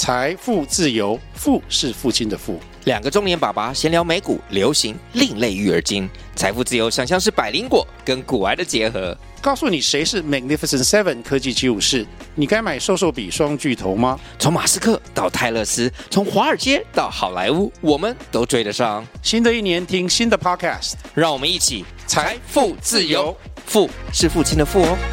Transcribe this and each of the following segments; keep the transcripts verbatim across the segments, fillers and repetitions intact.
財富自由，富是父親的富。 兩個中年爸爸閒聊美股、流行、另類育兒經。財富自由想象是百靈果跟股癌的結合。 告訴你誰是 Magnificent Seven 科技七武士，你該買瘦瘦筆雙巨頭嗎？ 從馬斯克到泰勒斯，從華爾街到好萊塢，我們都追得上。 新的一年聽新的 Podcast， 讓我們一起財富自由，富是父親的富哦。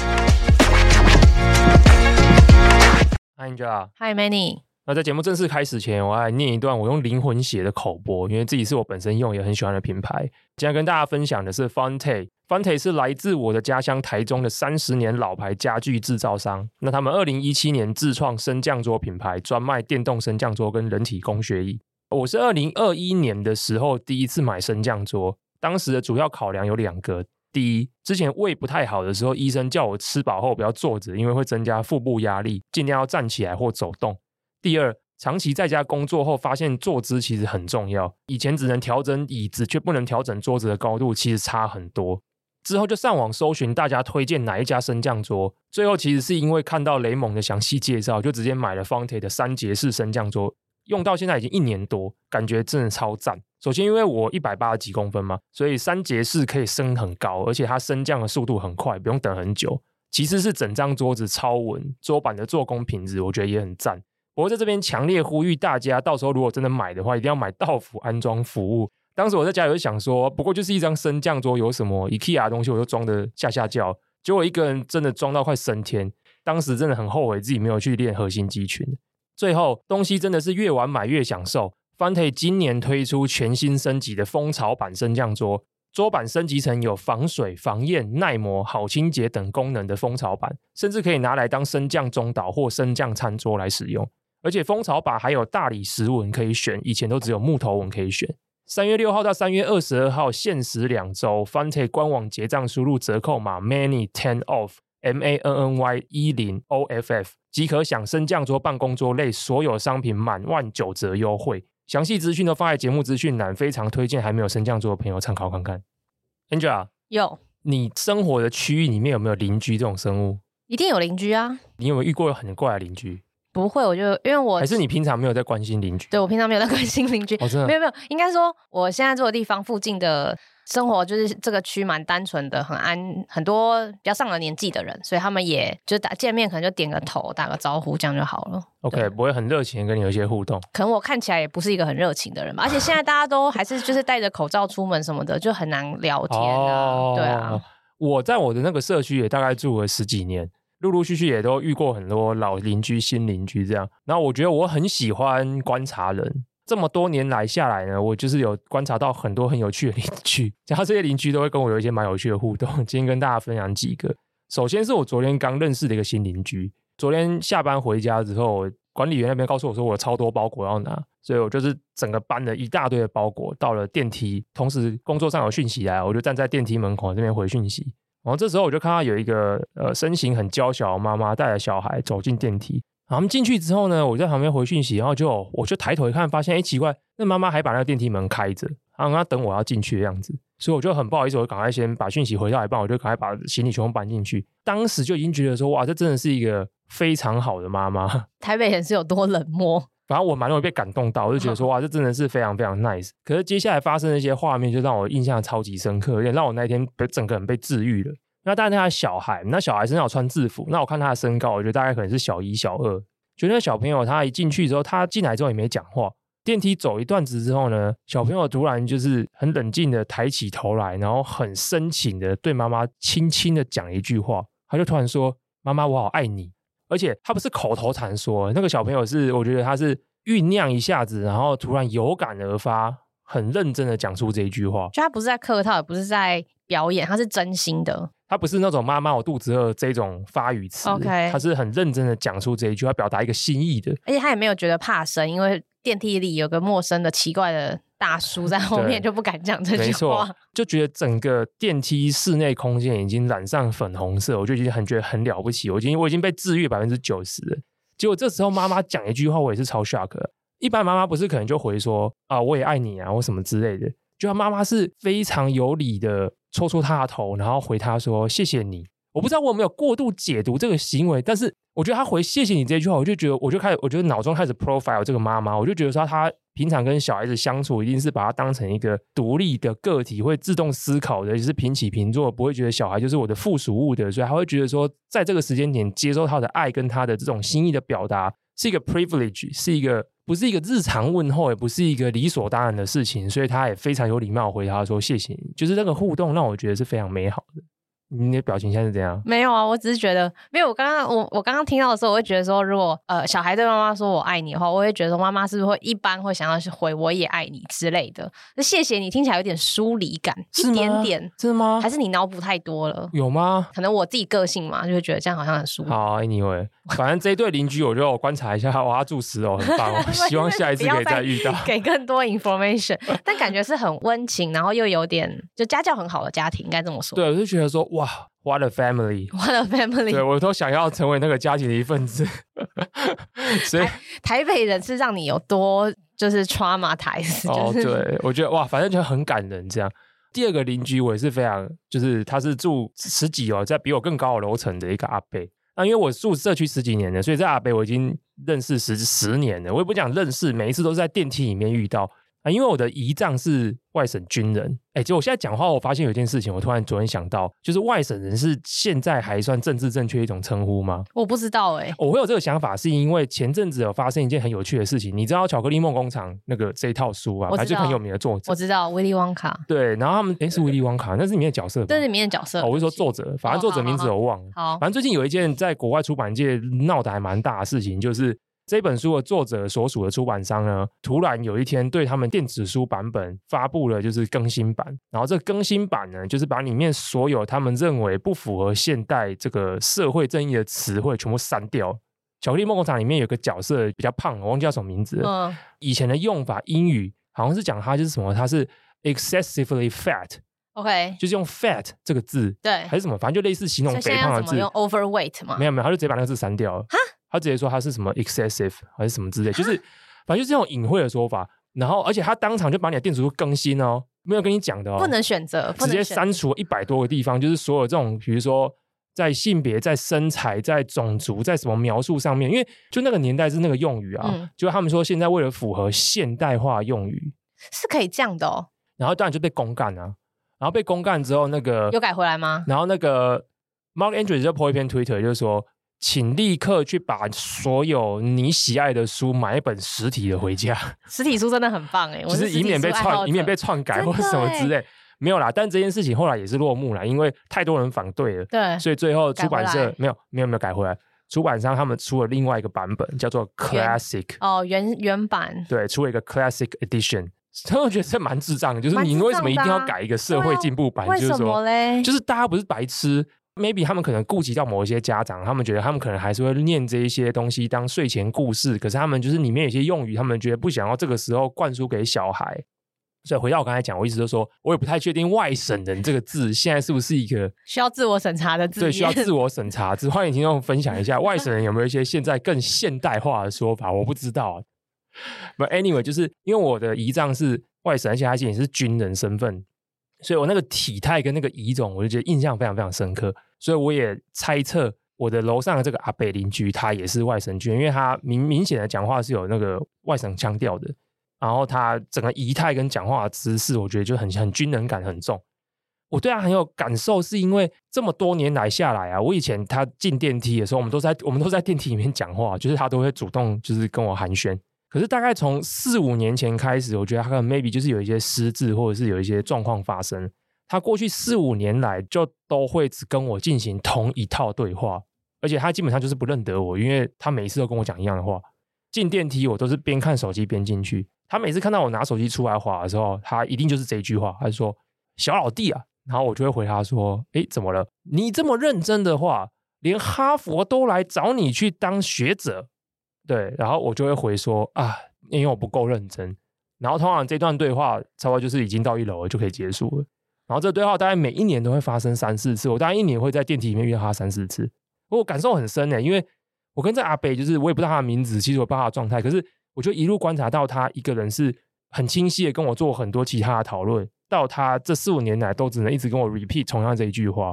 Hi Angela， Hi Manny。 那在節目正式開始前，我要來念一段我用靈魂寫的口播，因為自己是我本身用也很喜歡的品牌。今天跟大家分享的是 Fonte。Fonte 是來自我的家鄉台中的三十年老牌家具製造商。那他們二零一七年自創升降桌品牌，專賣電動升降桌跟人體工學椅。我是二零二一年的時候第一次買升降桌，當時的主要考量有兩個。第一，之前胃不太好的時候，醫生叫我吃飽後不要坐着，因為會增加腹部壓力，盡量要站起來或走動。第二，長期在家工作後發現坐姿其實很重要，以前只能調整椅子卻不能調整桌子的高度，其實差很多。之後就上網搜尋大家推薦哪一家升降桌，最後其實是因為看到雷蒙的詳細介紹，就直接買了 Fonte 的三節式升降桌，用到現在已經一年多，感覺真的超讚。首先因為我一百八十幾公分嘛，所以三節式可以升很高，而且它升降的速度很快，不用等很久。其次是整張桌子超穩，桌板的做工品質我覺得也很讚。不過在這邊強烈呼籲大家，到時候如果真的買的話，一定要買到府安裝服務。當時我在家裡就想說，不過就是一張升降桌，有什麼 IKEA 的東西我就裝的下下叫，結果一個人真的裝到快升天。當時真的很後悔自己沒有去練核心肌群。最後東西真的是越晚買越享受。Fonte 今年推出全新升級的蜂巢版升降桌，桌板升級成有防水、防焰、耐磨、好清潔等功能的蜂巢版，甚至可以拿來當升降中島或升降餐桌來使用。而且蜂巢版還有大理石紋可以選，以前都只有木頭紋可以選。三月六號到三月二十二號限時兩周 Fonte 官網結賬輸入折扣碼 Manny 十 off M A N N Y 十 O F F 即可享升降桌、辦公桌類所有商品滿萬九折優惠。詳細資訊都放在節目資訊欄，非常推薦還沒有升降桌的朋友參考看看。Angela， 有， 你生活的區域裡面有沒有鄰居這種生物？ 一定有鄰居啊。 你有沒有遇過很怪的鄰居？ 不會，我就因為我還是你平常沒有在關心鄰居？對， 我平常沒有在關心鄰居、 哦、真的沒有沒有，應該說我現在住的地方附近的生活就是這個區蠻單純的，很安，很多比較上了年紀的人，所以他們也就打見面可能就點個頭打個招呼這樣就好了。 OK， 不會很熱情的跟你有一些互動。 可能我看起來也不是一個很熱情的人吧，而且現在大家都還是就是戴着口罩出門什麼的，就很難聊天啊、哦、對啊。 我在我的那個社區也大概住了十幾年，陸陸續續也都遇過很多老鄰居、新鄰居這樣。然後我覺得我很喜歡觀察人，這麼多年來下來呢，我就是有觀察到很多很有趣的鄰居，然後這些鄰居都會跟我有一些蠻有趣的互動。今天跟大家分享幾個。首先是我昨天剛認識的一個新鄰居，昨天下班回家之後，管理員那邊告訴我說我有超多包裹要拿，所以我就是整個搬了一大堆的包裹到了電梯，同時工作上有訊息來，我就站在電梯門口這邊回訊息。然後這時候我就看到有一個呃身形很嬌小的媽媽帶着小孩走進電梯，然後他們進去之後呢，我在旁邊回訊息，然後就我就抬頭一看，發現哎奇怪，那媽媽還把那個電梯門開着，然後她等我要進去的樣子，所以我就很不好意思，我趕快先把訊息回到一半，我就趕快把行李全部搬進去。當時就已經覺得說，哇，這真的是一個非常好的媽媽。台北人是有多冷漠？反正我蠻容易被感動到，我就覺得說哇，這真的是非常非常 nice。可是接下來發生的一些畫面，就讓我印象超級深刻，有點讓我那天整個人被治癒了。那當然他的小孩，那小孩身上有穿制服，那我看他的身高，我覺得大概可能是小一、小二。覺得那小朋友他一進去之後，他進來之後也沒講話。電梯走一段子之後呢，小朋友突然就是很冷靜的抬起頭來，然後很深情的對媽媽輕輕的講一句話，他就突然說：“媽媽，我好愛你。”而且他不是口頭禪說，那個小朋友是，我覺得他是醞釀一下子，然後突然有感而發，很認真的講出這一句話。就他不是在客套，也不是在表演，他是真心的。他不是那種媽媽我肚子餓這種發語詞， okay. 他是很認真的講出這一句話，表達一個心意的。而且他也沒有覺得怕生，因為電梯裡有個陌生的奇怪的大叔在後面，就不敢講這句話。沒錯，就覺得整個電梯室內空間已經染上粉紅色，我就已經很覺得很了不起，我已經我已經被治癒百分之九十了。結果這時候媽媽講一句話，我也是超 shock 的。一般媽媽不是可能就回說啊我也愛你啊或什麼之類的，就她媽媽是非常有禮的戳戳她的頭，然後回她說謝謝你。 我不知道我有沒有過度解讀這個行為，但是我覺得他回謝謝你這句話，我就覺得我就開始，我覺得腦中開始 profile 這個媽媽，我就覺得說他平常跟小孩子相處，一定是把他當成一個獨立的個體，會自動思考的，就是平起平坐，不會覺得小孩就是我的附屬物的，所以他會覺得說，在這個時間點接受他的愛跟他的這種心意的表達，是一個 privilege， 是一個不是一個日常問候，也不是一個理所當然的事情，所以他也非常有禮貌回答說謝謝你，就是那個互動讓我覺得是非常美好的。你的表情現在是怎樣？沒有啊，我只是覺得，沒有。我剛剛我我剛剛聽到的時候，我會覺得說，如果呃小孩對媽媽說我愛你的話，我會覺得說媽媽是不是會一般會想要去回我也愛你之類的。那謝謝你聽起來有點疏離感，一點點，真的嗎？還是你腦補太多了？有嗎？可能我自己個性嘛，就會覺得這樣好像很疏離。好 ，anyway， 反正這一對鄰居，我就觀察一下，哇，他住十樓，很棒哦。希望下一次可以再遇到，給更多 information。但感覺是很溫情，然後又有點就家教很好的家庭，應該這麼說。對，我就覺得說哇。What a family! What a family! 對，我都想要成為那個家庭的一份子。所以台，台北人是讓你有多就是 traumatized。哦，對，我覺得哇，反正就很感人這樣。第二個鄰居我也是非常，就是他是住十幾哦，在比我更高的樓層的一個阿伯。那因為我住社區十幾年了，所以這阿伯我已經認識十十年了。我也不講認識，每一次都是在電梯裡面遇到。啊，因為我的姨丈是外省軍人，哎，結果我現在講話，我發現有一件事情，我突然昨天想到，就是外省人是現在還算政治正確一種稱呼嗎？我不知道哎、欸，我會有這個想法，是因為前陣子有發生一件很有趣的事情，你知道《巧克力夢工廠》那個這一套書啊，還是很有名的作者，我知道威利旺卡，對，然後他們哎是威利旺卡，那是裡面的角色吧，這是裡面的角色，哦、我是說作者，反正作者名字我忘了，哦、好，好，好，好，反正最近有一件在國外出版界鬧得還蠻大的事情，就是。這本書的作者所屬的出版商呢，突然有一天對他們電子書版本發布了就是更新版，然後這個更新版呢，就是把裡面所有他們認為不符合現代這個社會正義的詞彙全部刪掉。巧克力夢工廠裡面有個角色比較胖，我忘記叫什麼名字了。嗯，以前的用法英語好像是講他就是什麼，他是 excessively fat。OK， 就是用 fat 這個字，對，還是什麼，反正就類似形容肥胖的字。用 overweight 嗎？沒有沒有，他就直接把那個字刪掉了。哈，他直接說他是什麼 excessive 還是什麼之類，就是反正就是這種隱晦的說法。然後，而且他當場就把你的電子書更新哦，沒有跟你講的哦，不能選擇，直接刪除一百多個地方，就是所有這種，比如說在性別、在身材、在種族、在什麼描述上面，因為就那個年代是那個用語啊，嗯、就他們說現在為了符合現代化用語是可以這樣的哦。然後當然就被公幹啊。然後被公幹之後，那個有改回來嗎？然後那個 Mark Andrews 就 po 一篇 Twitter， 就是說，請立刻去把所有你喜愛的書買一本實體的回家。實體書真的很棒哎，就是以免被篡，以免被篡改或者什麼之類。沒有啦，但這件事情後來也是落幕了，因為太多人反對了。對，所以最後出版社沒有沒有沒有改回來。出版商他們出了另外一個版本，叫做 Classic。哦，原原版。對，出了一個 Classic Edition。所以我覺得這蠻智障的，就是你為什麼一定要改一個社會進步版？啊、就是說，就是大家不是白痴 ，maybe 他們可能顧及到某一些家長，他們覺得他們可能還是會念這一些東西當睡前故事，可是他們就是裡面有些用語，他們覺得不想要這個時候灌輸給小孩。所以回到我剛才講，我一直都說，我也不太確定外省人這個字現在是不是一個需要自我審查的字？對，需要自我審查。只歡迎聽眾分享一下，外省人有沒有一些現在更現代化的說法？我不知道。But anyway， 就是因為我的姨丈是外省，而且他也是軍人身份，所以我那個體態跟那個儀種，我就覺得印象非常非常深刻。所以我也猜測我的樓上的這個阿伯鄰居，他也是外省軍，因為他明明顯的講話是有那個外省腔調的，然後他整個儀態跟講話的姿勢，我覺得就很很軍人感很重。我對他很有感受，是因為這麼多年來下來啊，我以前他進電梯的時候，我們都在我們都在電梯裡面講話，就是他都會主動就是跟我寒暄。可是大概從四五年前開始，我覺得他可能 maybe 就是有一些失智，或者是有一些狀況發生。他過去四五年來就都會只跟我進行同一套對話，而且他基本上就是不認得我，因為他每次都跟我講一樣的話。進電梯我都是邊看手機邊進去，他每次看到我拿手機出來滑的時候，他一定就是這一句話，他就說小老弟啊，然後我就會回他說，誒，怎麼了？你這麼認真的話，連哈佛都來找你去當學者。對，然後我就會回說啊，因為我不夠認真。然後通常這段對話差不多就是已經到一樓了就可以結束了。然後這個對話大概每一年都會發生三四次，我大概一年會在電梯裡面遇到他三四次。我感受很深耶，因為我跟這阿伯就是我也不知道他的名字，其實我不知道他的狀態，可是我就一路觀察到他一個人是很清晰的跟我做很多其他的討論，到他這四五年來都只能一直跟我 repeat 同樣這一句話。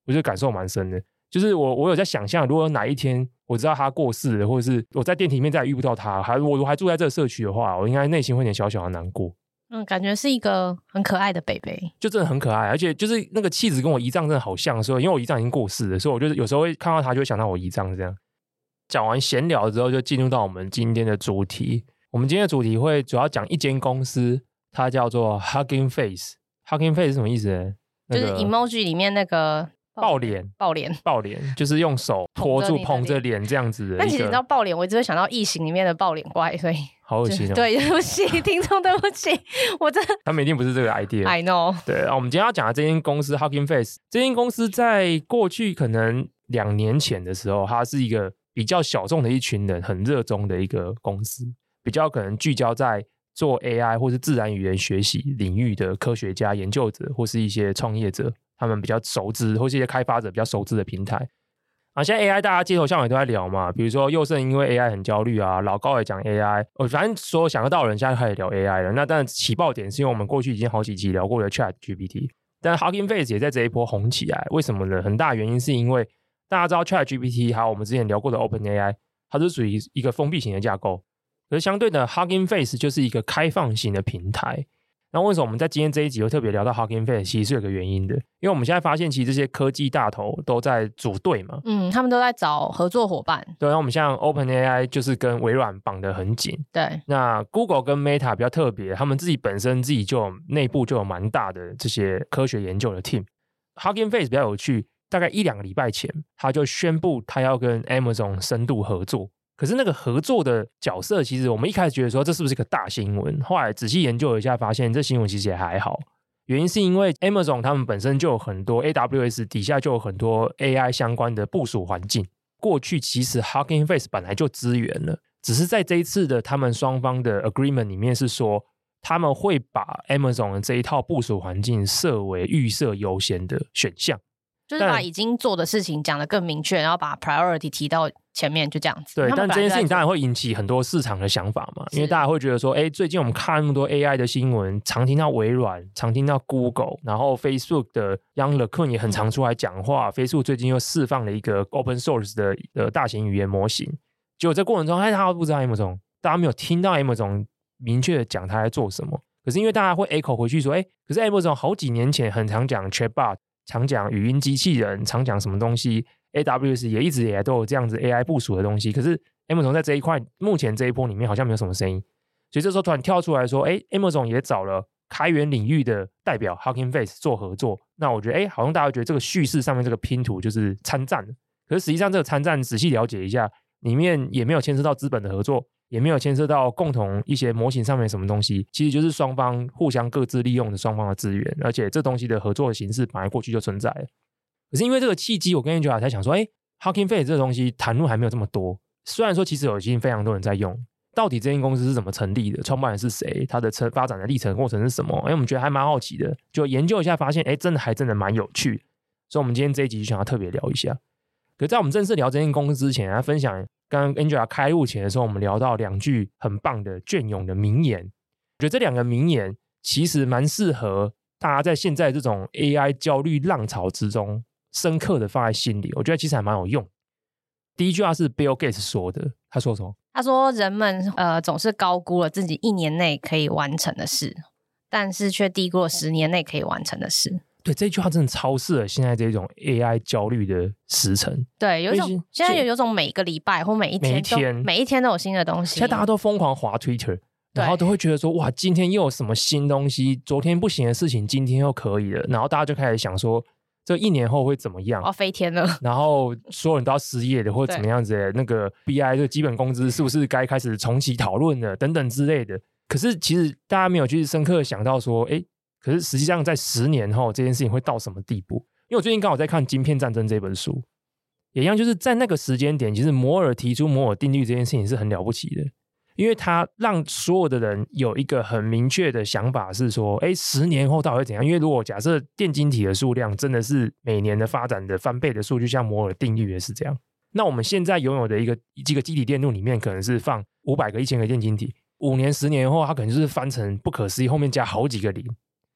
我覺得感受蠻深的。就是我我有在想象，如果有哪一天我知道他過世了，或者是我在電梯裡面再也遇不到他，還我還住在這個社區的話，我應該內心會有點小小的難過。 嗯，感覺是一個很可愛的北北， 就真的很可愛，而且就是那個氣質跟我姨丈真的好像，所以因為我姨丈已經過世了，所以我就是有時候會看到他就會想到我姨丈這樣。講完閒聊之後，就進入到我們今天的主題。我們今天的主題會主要講一間公司，它叫做 Hugging Face。Hugging Face 是什麼意思呢？那個、 就是 emoji 裡面那個抱臉， 抱臉， 抱臉，就是用手托住捧着臉這樣子的。 但其實你知道抱臉，我一直會想到異形裡面的抱臉怪，所以好噁心哦。 對，對不起，聽眾，對不起，我真的他們一定不是這個 idea。 I know。 對，然後我們今天要講的這間公司 Hugging Face， 這間公司在過去可能兩年前的時候，它是一個比較小眾的一群人很熱衷的一個公司，比較可能聚焦在做 A I 或是自然語言學習領域的科學家、研究者或是一些創業者，他們比較熟知，或是一些開發者比較熟知的平台。啊，現在 A I 大家街頭巷尾都在聊嘛，比如說佑勝因為 A I 很焦慮啊，老高也講 A I， 哦，反正所有想得到的人現在開始聊 A I 了。那當然起爆點是因為我們過去已經好幾集聊過的 Chat G P T， 但 Hugging Face 也在這一波紅起來，為什麼呢？很大原因是因為大家知道 Chat G P T 還有我們之前聊過的 OpenAI， 它是屬於一個封閉型的架構。可是相對的 Hugging Face 就是一個開放型的平台。那為什麼我們在今天這一集會特別聊到 Hugging Face？ 其實是有個原因的，因為我們現在發現其實這些科技大頭都在組隊嘛，嗯， 他們都在找合作夥伴。 對，那我們像 OpenAI 就是跟微軟綁得很緊， 對。 那 Google 跟 Meta 比較特別，他們自己本身自己就有內部就有蠻大的這些科學研究的 team。Hugging Face 比較有趣，大概一兩個禮拜前，他就宣布他要跟 Amazon 深度合作。可是那個合作的角色，其實我們一開始覺得說這是不是一個大新聞？後來仔細研究了一下，發現這新聞其實也還好。原因是因為 Amazon 他們本身就有很多 A W S 底下就有很多 A I 相關的部署環境。過去其實 Hugging Face 本來就支援了，只是在這一次的他們雙方的 agreement 裡面是說，他們會把 Amazon 的這一套部署環境設為預設優先的選項。 就是把已經做的事情講得更明確，然後把 priority 提到前面，就這樣子。 對，但這件事情當然會引起很多市場的想法嘛，因為大家會覺得說，哎，最近我們看那麼多 A I 的新聞，常聽到微軟，常聽到 Google， 然後 Facebook 的 Yann LeCun 也很常出來講話、嗯、，Facebook 最近又釋放了一個 open source 的的大型語言模型，結果在過程中，哎，大家都不知道 Amazon， 大家沒有聽到 Amazon 明確的講他在做什麼，可是因為大家會 echo 回去說，哎，可是 Amazon 好幾年前很常講 Chatbot。常講語音機器人，常講什麼東西 A W S 也一直以來都有這樣子 A I 部署的東西，可是 Amazon 在這一塊目前這一波裡面好像沒有什麼聲音，所以這時候突然跳出來說，哎 Amazon 也找了開源領域的代表 Hugging Face 做合作，那我覺得哎，好像大家覺得這個敘事上面這個拼圖就是參戰，可是實際上這個參戰仔細了解一下，裡面也沒有牽涉到資本的合作，也沒有牽涉到共同一些模型上面什麼東西，其實就是雙方互相各自利用的雙方的資源，而且這東西的合作的形式本來過去就存在了。可是因為這個契機，我跟 Angela 才想說，哎 Hugging Face 這個東西談論還沒有這麼多，雖然說其實有已經非常多人在用，到底這間公司是怎麼成立的，創辦人是誰，它的發展的歷程過程是什麼，哎，我們覺得還蠻好奇的，就研究一下發現，哎，真的還真的蠻有趣，所以我們今天這一集就想要特別聊一下。可是在我們正式聊這間公司之前，來分享剛剛 Angela 開錄前的時候，我們聊到兩句很棒的雋永的名言。我覺得這兩個名言其實蠻適合大家在現在這種 A I 焦慮浪潮之中，深刻的放在心裡。我覺得其實還蠻有用。第一句話是 Bill Gates 說的，他說什麼？ 他說人們呃總是高估了自己一年內可以完成的事，但是卻低估了十年內可以完成的事。對， 這句話真的超適合現在這種 A I 焦慮的時辰。 對，有一種現在有有種每個禮拜或每一天都每一天每一天都有新的東西。 現在大家都瘋狂滑 Twitter， 然後都會覺得說，哇，今天又有什麼新東西？昨天不行的事情，今天又可以了。然後大家就開始想說，這一年後會怎麼樣？ 哦，飛天了。 然後所有人都要失業的，或者怎麼樣子的？那個 B I 這個基本工資是不是該開始重啟討論了？等等之類的。可是其實大家沒有去深刻的想到說，哎。可是實際上在十年後這件事情會到什麼地步？因為我最近剛好在看《晶片戰爭》這本書，也一樣，就是在那個時間點，其實摩爾提出摩爾定律這件事情是很了不起的，因為它讓所有的人有一個很明確的想法是說，哎，十年後到底會怎樣？因為如果假設電晶體的數量真的是每年的發展的翻倍的數據，像摩爾定律也是這樣，那我們現在擁有的一個幾個基體電路裡面可能是放五百個、一千個電晶體，五年、十年後它可能就是翻成不可思議，後面加好幾個零。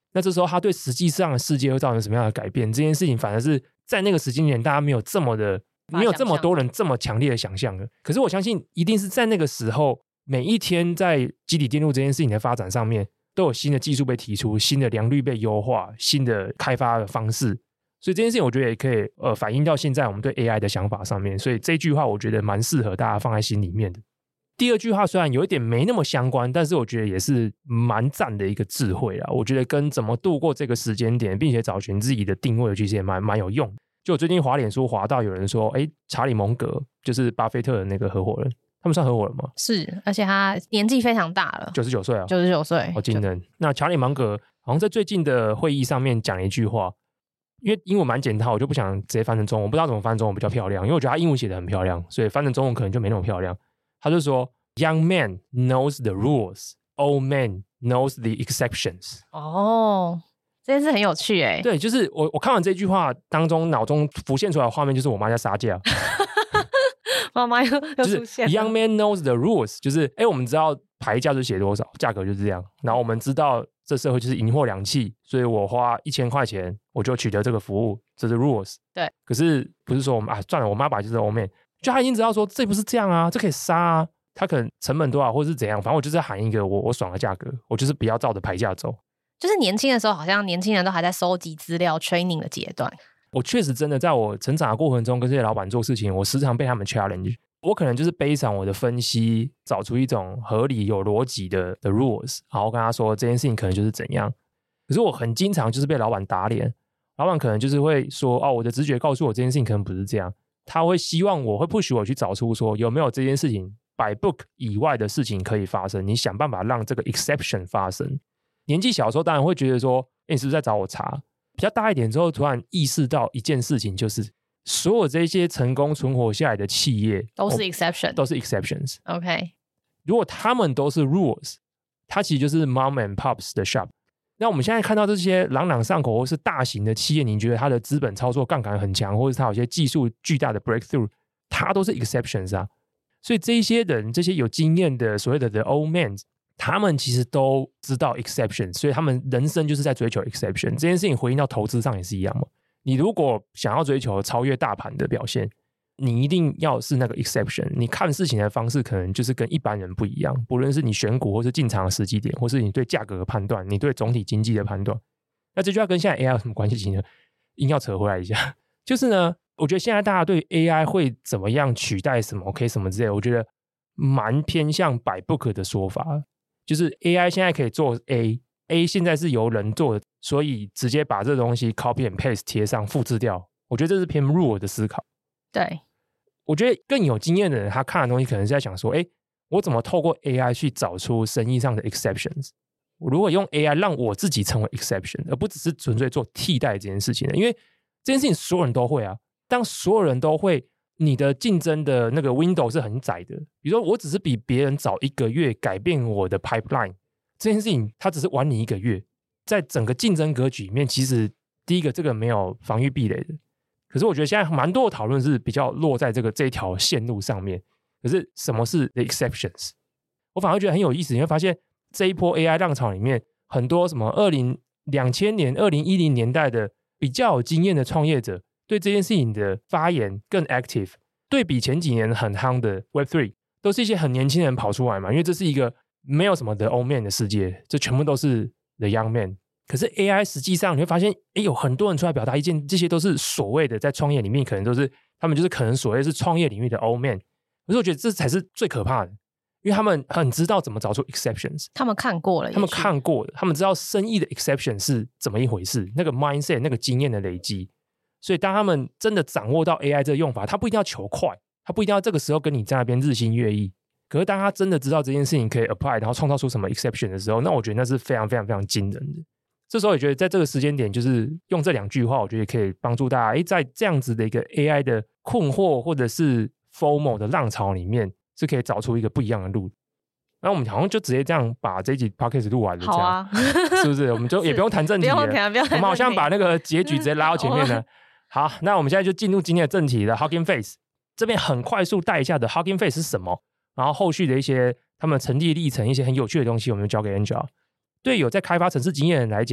那這時候他對實際上的世界會造成什麼樣的改變？這件事情反而是在那個時間點，大家沒有這麼的，沒有這麼多人這麼強烈的想象的。可是我相信，一定是在那個時候，每一天在基底電路這件事情的發展上面，都有新的技術被提出，新的良率被優化，新的開發的方式。所以這件事情，我覺得也可以呃反映到現在我們對 A I 的想法上面。所以這句話，我覺得蠻適合大家放在心裡面的。第二句話雖然有一點沒那麼相關，但是我覺得也是蠻讚的一個智慧啦。我覺得跟怎麼度過這個時間點，並且找尋自己的定位，其實也蠻蠻有用。就我最近滑臉書滑到有人說，哎，查理蒙格就是巴菲特的那個合夥人，他們算合夥人嗎？ 是，而且他年紀非常大了， 九十九歲啊， 九十九歲， 好驚人。那查理蒙格好像在最近的會議上面講了一句話，因為英文蠻簡單，我就不想直接翻成中文，我不知道怎麼翻中文比較漂亮，因為我覺得他英文寫得很漂亮，所以翻成中文可能就沒那麼漂亮。他就說。Young man knows the rules, old man knows the exceptions. 哦，這件事很有趣哎。 對，就是我我看完這句話當中，腦中浮現出來的畫面就是我媽在殺價。 媽媽又又出現了。 Young man knows the rules， 就是哎，我們知道牌價就寫多少，價格就是這樣。然後我們知道這社會就是銀貨兩訖，所以我花一千塊錢我就取得這個服務，這是 rules。 對。可是不是說我們啊算了，我媽把就是 old man， 就他已經知道說這不是這樣啊，這可以殺啊。他可能成本多少，或是怎樣，反正我就是喊一個我我爽的價格，我就是不要照着牌價走。 就是年輕的時候，好像年輕人都還在收集資料、training 的階段。 我確實真的在我成長的過程中，跟這些老闆做事情，我時常被他們 challenge。我可能就是背上我的分析，找出一種合理有邏輯的的 rules， 然後跟他說這件事情可能就是怎樣。可是我很經常就是被老闆打臉，老闆可能就是會說哦，我的直覺告訴我這件事情可能不是這樣。他會希望我會 push 我去找出說有沒有這件事情by book 以外的事情可以發生，你想辦法讓這個 exception 發生。年紀小的時候當然會覺得說，欸，你是不是在找我茬？比較大一點之後，突然意識到一件事情，就是所有這些成功存活下來的企業都是 exception， 都是 exceptions。OK， 如果他們都是 rules， 它其實就是 mom and pops 的 shop。那我們現在看到這些朗朗上口或是大型的企業，你覺得它的資本操作槓桿很強，或者是它有些技術巨大的 breakthrough， 它都是 exceptions 啊。所以這一些人，這些有經驗的所謂的 the old men， 他們其實都知道 exception， 所以他們人生就是在追求 exception。這件事情回應到投資上也是一樣嘛。你如果想要追求超越大盤的表現，你一定要是那個 exception。你看事情的方式可能就是跟一般人不一樣，不論是你選股或是進場的時機點，或是你對價格的判斷，你對總體經濟的判斷。那這句話跟現在 A I 有什麼關係呢？硬要扯回來一下，就是呢，我覺得現在大家對 A I 會怎麼樣取代什麼 OK 什麼之類的，我覺得蠻偏向 by book 的說法，就是 A I 現在可以做 A，A 現在是由人做的，所以直接把這東西 copy and paste 貼上複製掉，我覺得這是偏 rule 的思考。 對， 我覺得更有經驗的人，他看的東西可能是在想說，哎，我怎麼透過 A I 去找出生意上的 exceptions？ 我如果用 A I 讓我自己成為 exception， 而不只是純粹做替代這件事情呢？因為這件事情所有人都會啊。當所有人都會，你的競爭的那個 window 是很窄的。比如說，我只是比別人早一個月改變我的 pipeline， 這件事情它只是晚你一個月。在整個競爭格局裡面，其實第一個這個沒有防禦壁壘的。可是我覺得現在蠻多的討論是比較落在這個這條線路上面。可是什麼是 the exceptions？ 我反而覺得很有意思，你會發現這一波 A I 浪潮裡面，很多什麼二零兩千年、二零一零年代的比較有經驗的創業者，對這件事情的發言更 active， 對比前幾年很夯的 Web 三， 都是一些很年輕人跑出來嘛，因為這是一個沒有什麼 the old man 的世界，這全部都是 the young man。可是 A I 實際上你會發現，誒，有很多人出來表達意見，這些都是所謂的在創業裡面可能都是他們就是可能所謂是創業領域的 old man。可是我覺得這才是最可怕的，因為他們很知道怎麼找出 exceptions， 他們看過了， 他們看過了，他們知道生意的 exception 是怎麼一回事，那個 mindset 那個經驗的累積。所以當他們真的掌握到 A I 這個用法，他不一定要求快，他不一定要這個時候跟你在那邊日新月異。可是當他真的知道這件事情可以 apply， 然後創造出什麼 exception 的時候，那我覺得那是非常非常非常驚人的。這時候也覺得在這個時間點，就是用這兩句話，我覺得可以幫助大家，誒，在這樣子的一個 A I 的困惑或者是 FOMO 的浪潮裡面，是可以找出一個不一樣的路。然後我們好像就直接這樣把這一集 podcast 錄完了，這樣，好啊，是不是？我們就也不用談正題了，不用談，不用談，我們好像把那個結局直接拉到前面了。好，那我們現在就進入今天的正題了。Hugging Face 這邊很快速帶一下的 Hugging Face 是什麼，然後後續的一些他們成立歷程，一些很有趣的東西，我們就交給 Angela。對有在開發程式經驗的人來講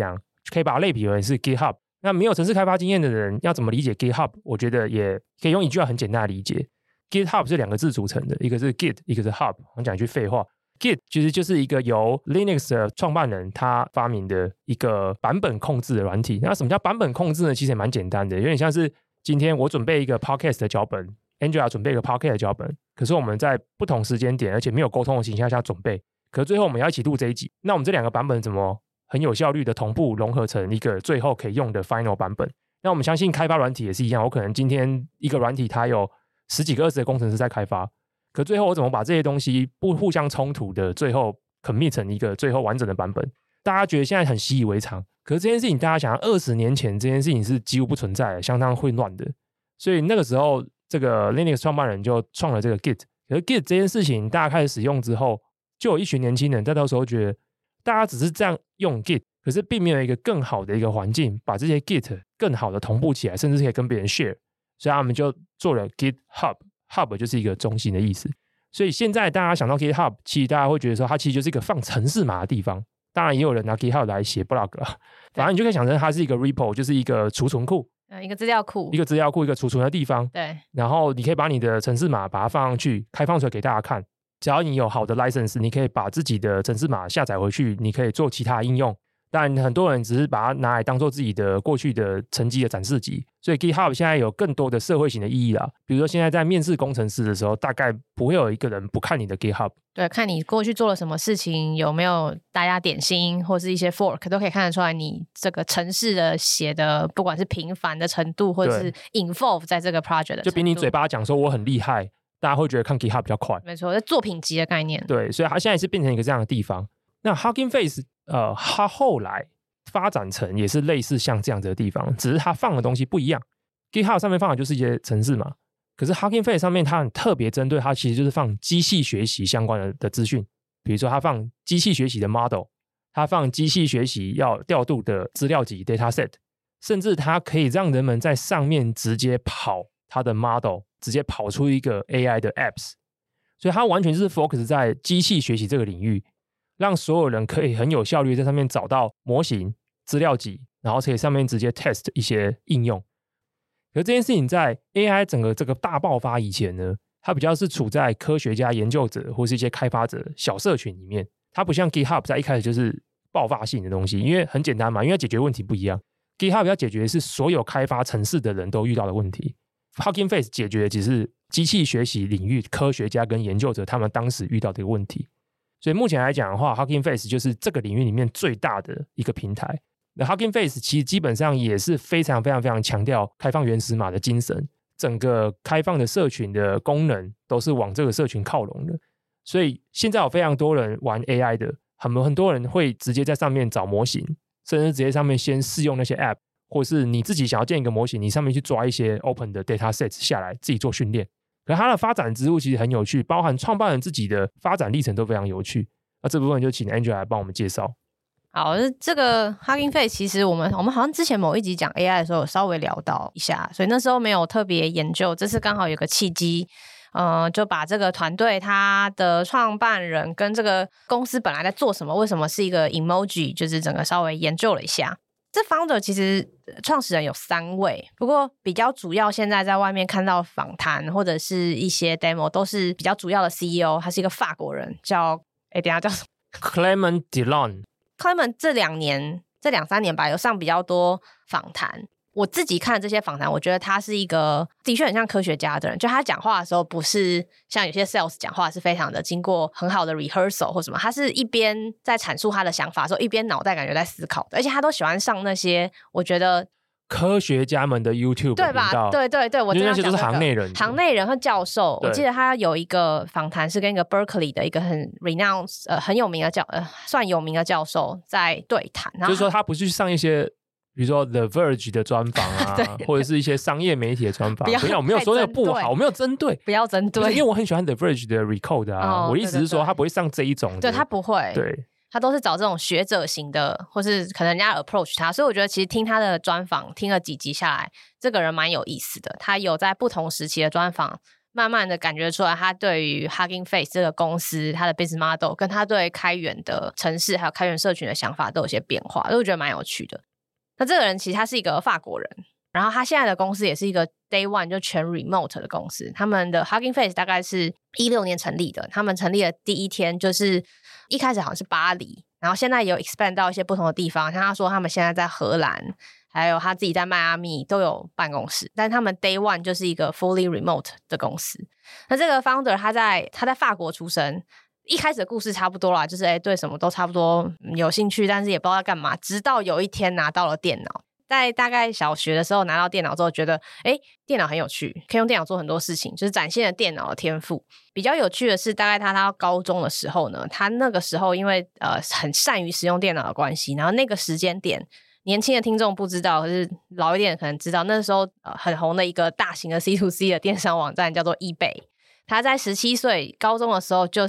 可以把它類比為是 GitHub。那沒有程式開發經驗的人要怎麼理解 GitHub？ 我覺得也可以用一句話很簡單的理解。GitHub 是兩個字組成的，一個是 Git， 一個是 Hub。我講一句廢話 ，Git 其實就是一個由 Linux 的創辦人他發明的一個版本控制的軟體。那什麼叫版本控制呢？其實也蠻簡單的，有點像是今天我準備一個 Podcast 的腳本 ，Angela 準備一個 Podcast 的腳本，可是我們在不同時間點而且沒有溝通的情況下準備，可是最後我們要一起錄這一集，那我們這兩個版本怎麼很有效率的同步融合成一個最後可以用的 Final 版本？那我們相信開發軟體也是一樣，我可能今天一個軟體它有十幾個、二十個工程師在開發，可最後我怎麼把這些東西不互相衝突的，最後 commit 成一個最後完整的版本？大家覺得現在很習以為常，可是這件事情大家想要二十年前這件事情是幾乎不存在的，相當混亂的。所以那個時候，這個 Linux 創辦人就創了這個 Git。可是 Git 這件事情大家開始使用之後，就有一群年輕人在到時候覺得，大家只是這樣用 Git， 可是並沒有一個更好的一個環境，把這些 Git 更好的同步起來，甚至可以跟別人 share。所以他們就做了 GitHub，Hub 就是一個中心的意思。所以現在大家想到 GitHub， 其實大家會覺得說它其實就是一個放程式碼的地方。當然也有人拿 GitHub 來寫 blog， 反正你就可以想成它是一個 repo， 就是一個儲存庫， 呃，一個資料庫， 一個資料庫，一個儲存的地方。 對。然後你可以把你的程式碼把它放上去，開放出來給大家看。只要你有好的 license， 你可以把自己的程式碼下載回去，你可以做其他的應用。但很多人只是把它拿來當做自己的過去的成績的展示集，所以 GitHub 現在有更多的社會型的意義啦。比如說現在在面試工程師的時候，大概不會有一個人不看你的 GitHub。 對，看你過去做了什麼事情，有沒有大家點心或是一些 fork， 都可以看得出來你這個程式的寫的，不管是頻繁的程度，或者是 involve 在這個 project 的程度， 就比你嘴巴講說我很厲害，大家會覺得看 GitHub 比較快。 沒錯，是作品集的概念。 對，所以它現在是變成一個這樣的地方。那 Hugging Face， 呃，它後來發展成也是類似像這樣子的地方，只是它放的東西不一樣。GitHub 上面放的就是一些程式嘛，可是 Hugging Face 上面它很特別針對，它其實就是放機器學習相關的的資訊，比如說它放機器學習的 model， 它放機器學習要調度的資料集 dataset， 甚至它可以讓人們在上面直接跑它的 model， 直接跑出一個 A I 的 apps， 所以它完全就是 focus 在機器學習這個領域，讓所有人可以很有效率在上面找到模型資料集，然後可以上面直接 test 一些應用。可是這件事情在 A I 整個這個大爆發以前呢，它比較是處在科學家、研究者或是一些開發者小社群裡面，它不像 GitHub 在一開始就是爆發性的東西，因為很簡單嘛，因為解決問題不一樣。GitHub 要解決的是所有開發程式的人都遇到的問題， Hugging Face 解決的只是機器學習領域科學家跟研究者他們當時遇到的一個問題。所以目前來講的話 Hugging Face 就是這個領域裡面最大的一個平台。那 Hugging Face 其實基本上也是非常非常非常強調開放原始碼的精神，整個開放的社群的功能都是往這個社群靠攏的。所以現在有非常多人玩 A I 的，很很多人會直接在上面找模型，甚至直接上面先試用那些 App， 或是你自己想要建一個模型，你上面去抓一些 Open 的 Dataset 下來自己做訓練。可是它的發展之路其實很有趣，包含創辦人自己的發展歷程都非常有趣。那這部分就請 Angela 來幫我們介紹。 好，這個 Hugging Face 其實我們我們好像之前某一集講 A I 的時候有稍微聊到一下，所以那時候沒有特別研究。這次剛好有個契機，呃，就把這個團隊他的創辦人跟這個公司本來在做什麼，為什麼是一個 emoji， 就是整個稍微研究了一下。這 founder 其實創始人有三位，不過比較主要現在在外面看到訪談或者是一些 demo 都是比較主要的 C E O， 他是一個法國人，叫哎，等一下叫什麼 Clément Diron。Clément 這兩年這兩三年吧，有上比較多訪談。我自己看這些訪談，我覺得他是一個的確很像科學家的人，就他講話的時候不是像有些 sales 講話是非常的經過很好的 rehearsal 或什麼，他是一邊在闡述他的想法的時候，一邊腦袋感覺在思考的，而且他都喜歡上那些我覺得科學家們的 YouTube 對吧？對對對，我覺得那些都是行內人， 行內人和教授。我記得他有一個訪談是跟一個 Berkeley 的一個很 renowned 呃很有名的教呃算有名的教授在對談， 就是說他不是去上一些比如說 The Verge 的專訪啊，或者是一些商業媒體的專訪。不要，我沒有說那個不好，我沒有針對，不要針對， 因為我很喜歡 The Verge 的 Recode 啊。哦、我的意思是說，他不會上這一種的， 對他不會， 對。 他都是找這種學者型的，或是可能人家 approach 他，所以我覺得其實聽他的專訪，聽了幾集下來，這個人蠻有意思的。他有在不同時期的專訪，慢慢的感覺出來，他對於 Hugging Face 這個公司，他的 business model，跟他對開源的城市還有開源社群的想法都有些變化，所以我覺得蠻有趣的。 那這個人其實他是一個法國人，然後他現在的公司也是一個 Day One 就全 Remote 的公司。他們的 Hugging Face 大概是一六年成立的，他們成立的第一天就是一開始好像是巴黎，然後現在有 expand 到一些不同的地方，像他說他們現在在荷蘭，還有他自己在邁阿密都有辦公室，但他們 Day One 就是一個 fully remote 的公司。那這個 founder 他在他在法國出生，一開始的故事差不多啦，就是誒對什麼都差不多有興趣，但是也不知道要幹嘛，直到有一天拿到了電腦。在大概小學的時候拿到電腦之後，覺得誒電腦很有趣，可以用電腦做很多事情，就是展現了電腦的天賦。比較有趣的是，大概他他高中的時候呢，他那個時候因為呃很善於使用電腦的關係，然後那個時間點，年輕的聽眾不知道，可是老一點的可能知道，那時候呃很紅的一個大型的 C to C 的電商網站叫做 eBay。他在十七歲高中的時候，就是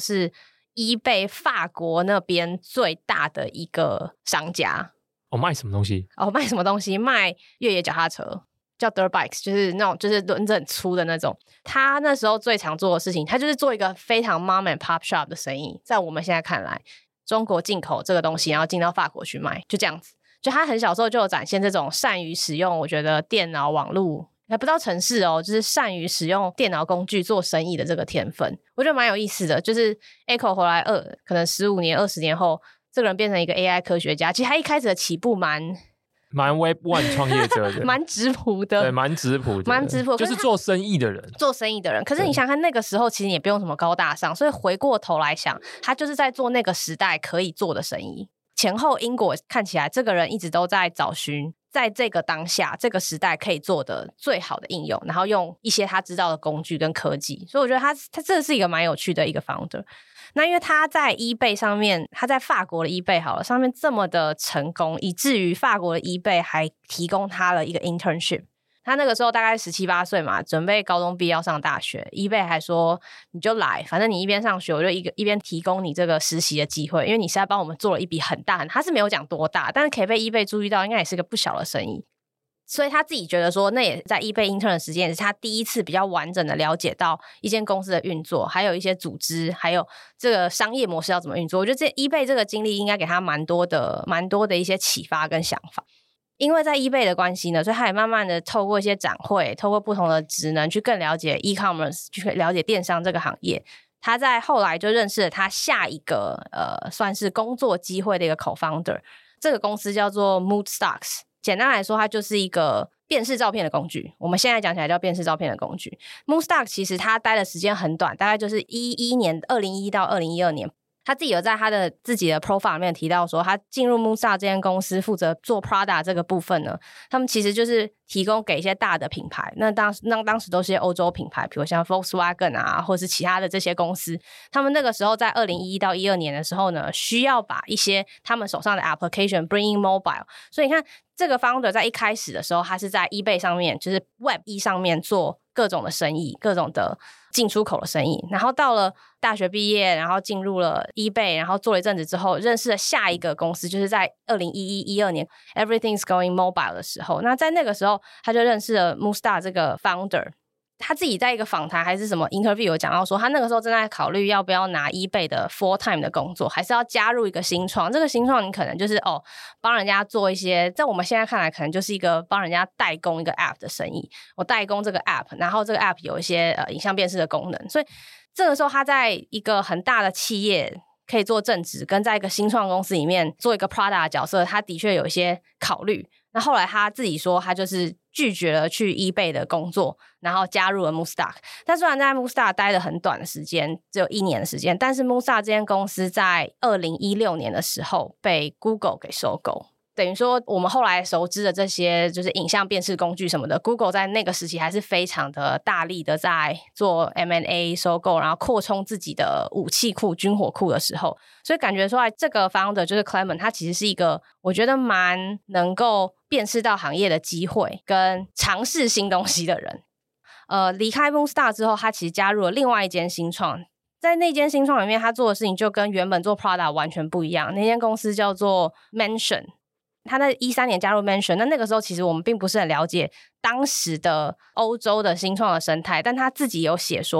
eBay 法國那邊最大的一個商家。 哦，賣什麼東西？ 哦，賣什麼東西？賣越野腳踏車，叫 dirt bikes， 就是那種就是輪子很粗的那種。他那時候最常做的事情，他就是做一個非常 mom and pop shop 的生意。在我們現在看來，中國進口這個東西，然後進到法國去賣，就這樣子。就他很小時候就有展現這種善於使用，我覺得電腦網絡還不到程式哦，就是善於使用電腦工具做生意的這個天分，我覺得蠻有意思的。就是 Echo 回來二，可能十五年、二十年後。這個人變成一個 A I 科學家，其實他一開始的起步蠻蠻 Web One 創業者的， 蠻質樸的， 對，蠻質樸的， 蠻質樸， 就是做生意的人， 做生意的人。可是你想看那個時候，其實也不用什麼高大上，所以回過頭來想，他就是在做那個時代可以做的生意。前後因果看起來，這個人一直都在找尋在這個當下、這個時代可以做的最好的應用，然後用一些他知道的工具跟科技。所以我覺得他他這是一個蠻有趣的一個 founder。那因為他在 eBay 上面，他在法國的 eBay 好了，上面這麼的成功，以至於法國的 eBay 還提供他了一個 internship。他那個時候大概十七八歲嘛，準備高中畢業要上大學， eBay 還說你就來，反正你一邊上學，我就一個一邊提供你這個實習的機會，因為你是在幫我們做了一筆很大很，他是沒有講多大，但是可以被 eBay 注意到，應該也是個不小的生意。所以他自己覺得說，那也在 eBay intern 的時間，也是他第一次比較完整的了解到一間公司的運作，還有一些組織，還有這個商業模式要怎麼運作。我覺得這 eBay 這個經歷應該給他蠻多的、蠻多的一些啟發跟想法。因為在 eBay 的關係呢，所以他也慢慢的透過一些展會，透過不同的職能去更了解 e-commerce， 去了解電商這個行業。他在後來就認識了他下一個呃，算是工作機會的一個 co-founder， 這個公司叫做 Moodstocks。簡單來說，它就是一個辨識照片的工具。我們現在講起來叫辨識照片的工具。Moodstock 其實他待的時間很短，大概就是一一年，二零一一到二零一二年。他自己有在他的自己的 profile 裡面提到說，他進入 Moodstock 這間公司負責做 Prada 這個部分呢，他們其實就是提供給一些大的品牌。那當時那當時都是些歐洲品牌，比如像 Volkswagen 啊，或者是其他的這些公司。他們那個時候在二零一一到一二年的時候呢，需要把一些他們手上的 application bring in mobile。所以你看，這個 founder 在一開始的時候，他是在 eBay 上面，就是 Web 一上面做各種的生意，各種的進出口的生意。然後到了大學畢業，然後進入了 eBay， 然後做了一陣子之後，認識了下一個公司，就是在二零一一、一二年 Everything's Going Mobile 的時候。那在那個時候，他就認識了 Moodstock 這個 founder。他自己在一個訪談還是什麼 interview 有講到說，他那個時候正在考慮要不要拿 eBay 的 full time 的工作，還是要加入一個新創。這個新創你可能就是哦，幫人家做一些，在我們現在看來可能就是一個幫人家代工一個 app 的生意。我代工這個 app， 然後這個 app 有一些呃影像辨識的功能，所以這個時候他在一個很大的企業可以做正職，跟在一個新創公司裡面做一個 Prada 的角色，他的確有一些考慮。那後來他自己說，他就是拒絕了去 eBay 的工作，然後加入了 Moodstock。但雖然在 Moodstock 待了很短的時間，只有一年的時間，但是 Moodstock 這間公司在二零一六年的時候被 Google 給收購。等於說我們後來熟知的這些就是影像辨識工具什麼的， Google 在那個時期還是非常的大力的在做 M and A 收購，然後擴充自己的武器庫、軍火庫的時候，所以感覺出來這個 founder 就是 Clement， 他其實是一個我覺得蠻能夠辨識到行業的機會跟嘗試新東西的人。呃，離開 Moodstock 之後，他其實加入了另外一間新創，在那間新創裡面，他做的事情就跟原本做 Prada 完全不一樣。那間公司叫做 Mention。他在一三年加入 Mention， 那那個時候其實我們並不是很了解當時的歐洲的新創的生態，但他自己有寫說，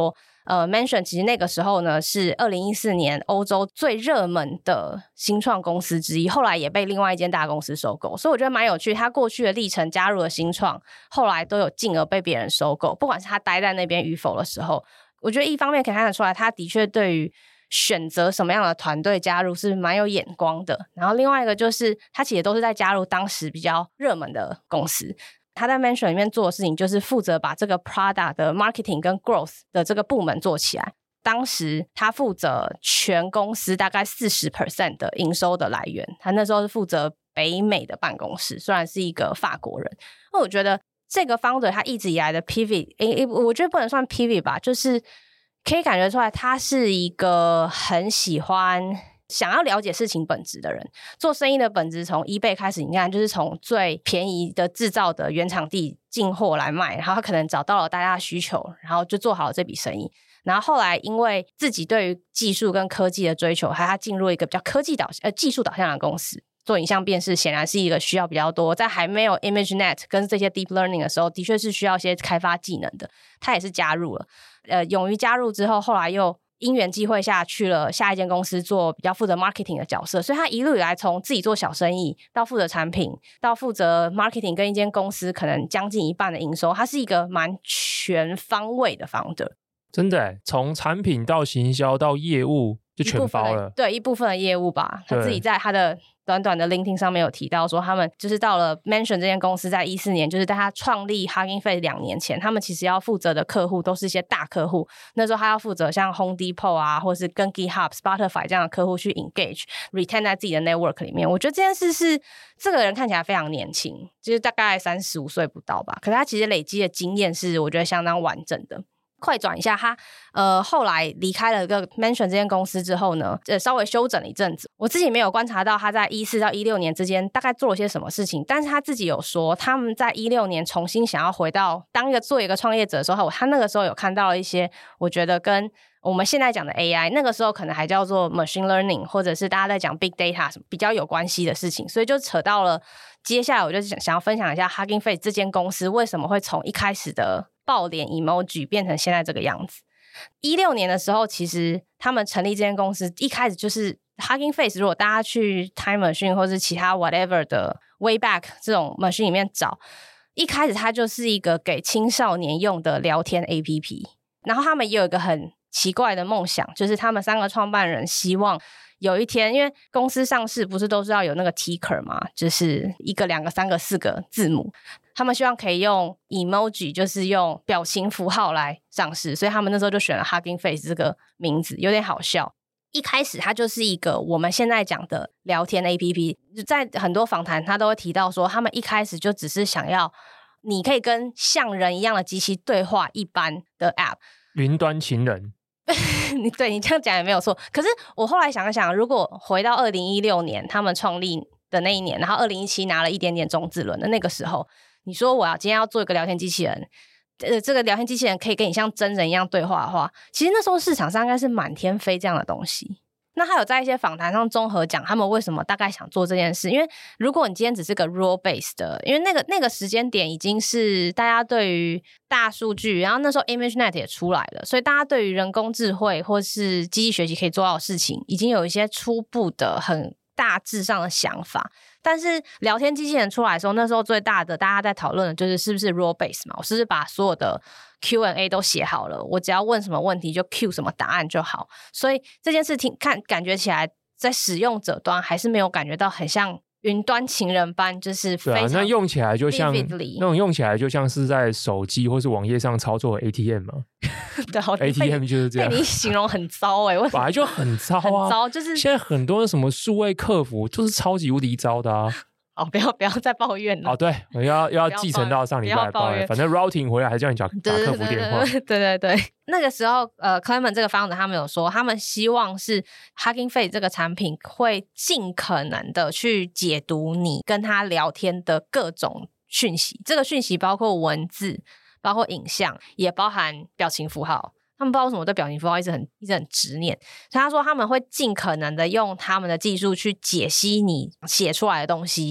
呃 Mention 其實那個時候呢是二零一四年歐洲最熱門的新創公司之一，後來也被另外一間大公司收購，所以我覺得蠻有趣。他過去的歷程加入了新創，後來都有進而被別人收購，不管是他待在那邊與否的時候，我覺得一方面可以看得出來，他的確對於選擇什麼樣的團隊加入是蠻有眼光的。然後另外一個就是他其實都是在加入當時比較熱門的公司。他在 Mention 裡面做的事情就是負責把這個 product 的 marketing 跟 growth 的這個部門做起来。當時他負責全公司大概 百分之四十 的營收的來源，他那時候是負責北美的辦公室，雖然是一個法國人。那我覺得這個 founder 他一直以來的 pivot， 誒誒我覺得不能算 pivot 吧，就是可以感覺出來他是一個很喜歡想要了解事情本質的人。做生意的本質從 eBay 開始，你看就是從最便宜的制造的原廠地進貨來賣，然後他可能找到了大家的需求，然後就做好了這筆生意。然後後來因為自己對於技術跟科技的追求，還有他進入一個比較科技導呃技術導向的公司，做影像辨識顯然是一個需要比較多，在還沒有 ImageNet 跟這些 Deep Learning 的時候，的確是需要一些開發技能的。他也是加入了，呃，勇於加入之後，後來又因緣際會下去了下一間公司做比較負責 marketing 的角色，所以他一路以來從自己做小生意到負責產品，到負責 marketing 跟一間公司可能將近一半的營收，他是一個蠻全方位的 founder。 真的耶，從產品到行銷到業務就全包了。 對，一部分的業務吧。他自己在他的短短的 LinkedIn 上面有提到說，他們就是到了 Mention 這間公司在一四年，就是在他創立 Hugging Face 兩年前，他們其實要負責的客戶都是一些大客戶。那時候他要負責像 Home Depot 啊，或是跟 GitHub、Spotify 這樣的客戶去 engage、retain 在自己的 network 裡面。我覺得這件事是這個人看起來非常年輕，就是大概三十五歲不到吧。可是他其實累積的經驗是我覺得相當完整的。快轉一下，他呃後來離開了個 Mention 這間公司之後呢，呃稍微休整了一陣子。我自己沒有觀察到他在一四到一六年之間大概做了些什麼事情，但是他自己有說，他們在一六年重新想要回到當一個做一個創業者的時候，他那個時候有看到了一些我覺得跟我們現在講的 A I 那個時候可能還叫做 machine learning， 或者是大家在講 big data 什麼比較有關係的事情，所以就扯到了接下來我就想想要分享一下 Hugging Face 這間公司為什麼會從一開始的爆臉 emoji 變成現在這個樣子。一六年的時候，其實他們成立這間公司一開始就是 Hugging Face， 如果大家去 Time Machine 或是其他 whatever 的 Wayback 這種 machine 裡面找，一開始它就是一個給青少年用的聊天 A P P。 然後他們也有一個很奇怪的夢想，就是他們三個創辦人希望有一天，因為公司上市不是都是要有那個 ticker 嘛，就是一個兩個三個四個字母，他們希望可以用 emoji， 就是用表情符號來上市，所以他們那時候就選了 Hugging Face 這個名字，有點好笑。一開始它就是一個我們現在講的聊天 A P P， 在很多訪談他都會提到說，他們一開始就只是想要你可以跟像人一樣的機器對話一般的 App， 雲端情人。 你对你這樣講也沒有錯，可是我後來想一想，如果回到二零一六年他們創立的那一年，然後二零一七拿了一點點種子輪的那個時候，你說我要今天要做一個聊天機器人，呃，這個聊天機器人可以跟你像真人一樣對話的話，其實那時候市場上應該是滿天飛這樣的東西。那他有在一些訪談上綜合講他們為什麼大概想做這件事，因為如果你今天只是個 role based 的，因為那個那個時間點已經是大家對於大數據，然後那時候 ImageNet 也出來了，所以大家對於人工智慧或是機器學習可以做到的事情，已經有一些初步的很大致上的想法。但是聊天機器人出來的时候，那時候最大的大家在討論的就是是不是 role based 嘛，我是不是把所有的 Q and A 都寫好了，我只要問什麼問題就 Q 什麼答案就好。所以這件事情看感覺起來在使用者端還是沒有感覺到很像雲端情人般，就是非常 vividly， 對啊，那用起來就像那種用起来就像是在手機或是網頁上操作的 A T M 嘛。 對 ，A T M 就是這樣。 你形容很糟哎、欸， 本來就很糟啊， 很糟，就是現在很多什麼數位客服就是超級無敵糟的啊。 哦，不要不要再抱怨了。 哦，對，我要要繼承到上禮拜的抱怨。反正 routing 回來還叫你講打客服電話。 對對對，對對對，那個時候呃 Clement 這個 founder 他們有說，他們希望是 Hugging Face 這個產品會盡可能的去解讀你跟他聊天的各種訊息，這個訊息包括文字，包括影像，也包含表情符號。他們不知道為什麼對表情符號一直很一直很執念，所以他說他們會盡可能的用他們的技術去解析你寫出來的東西，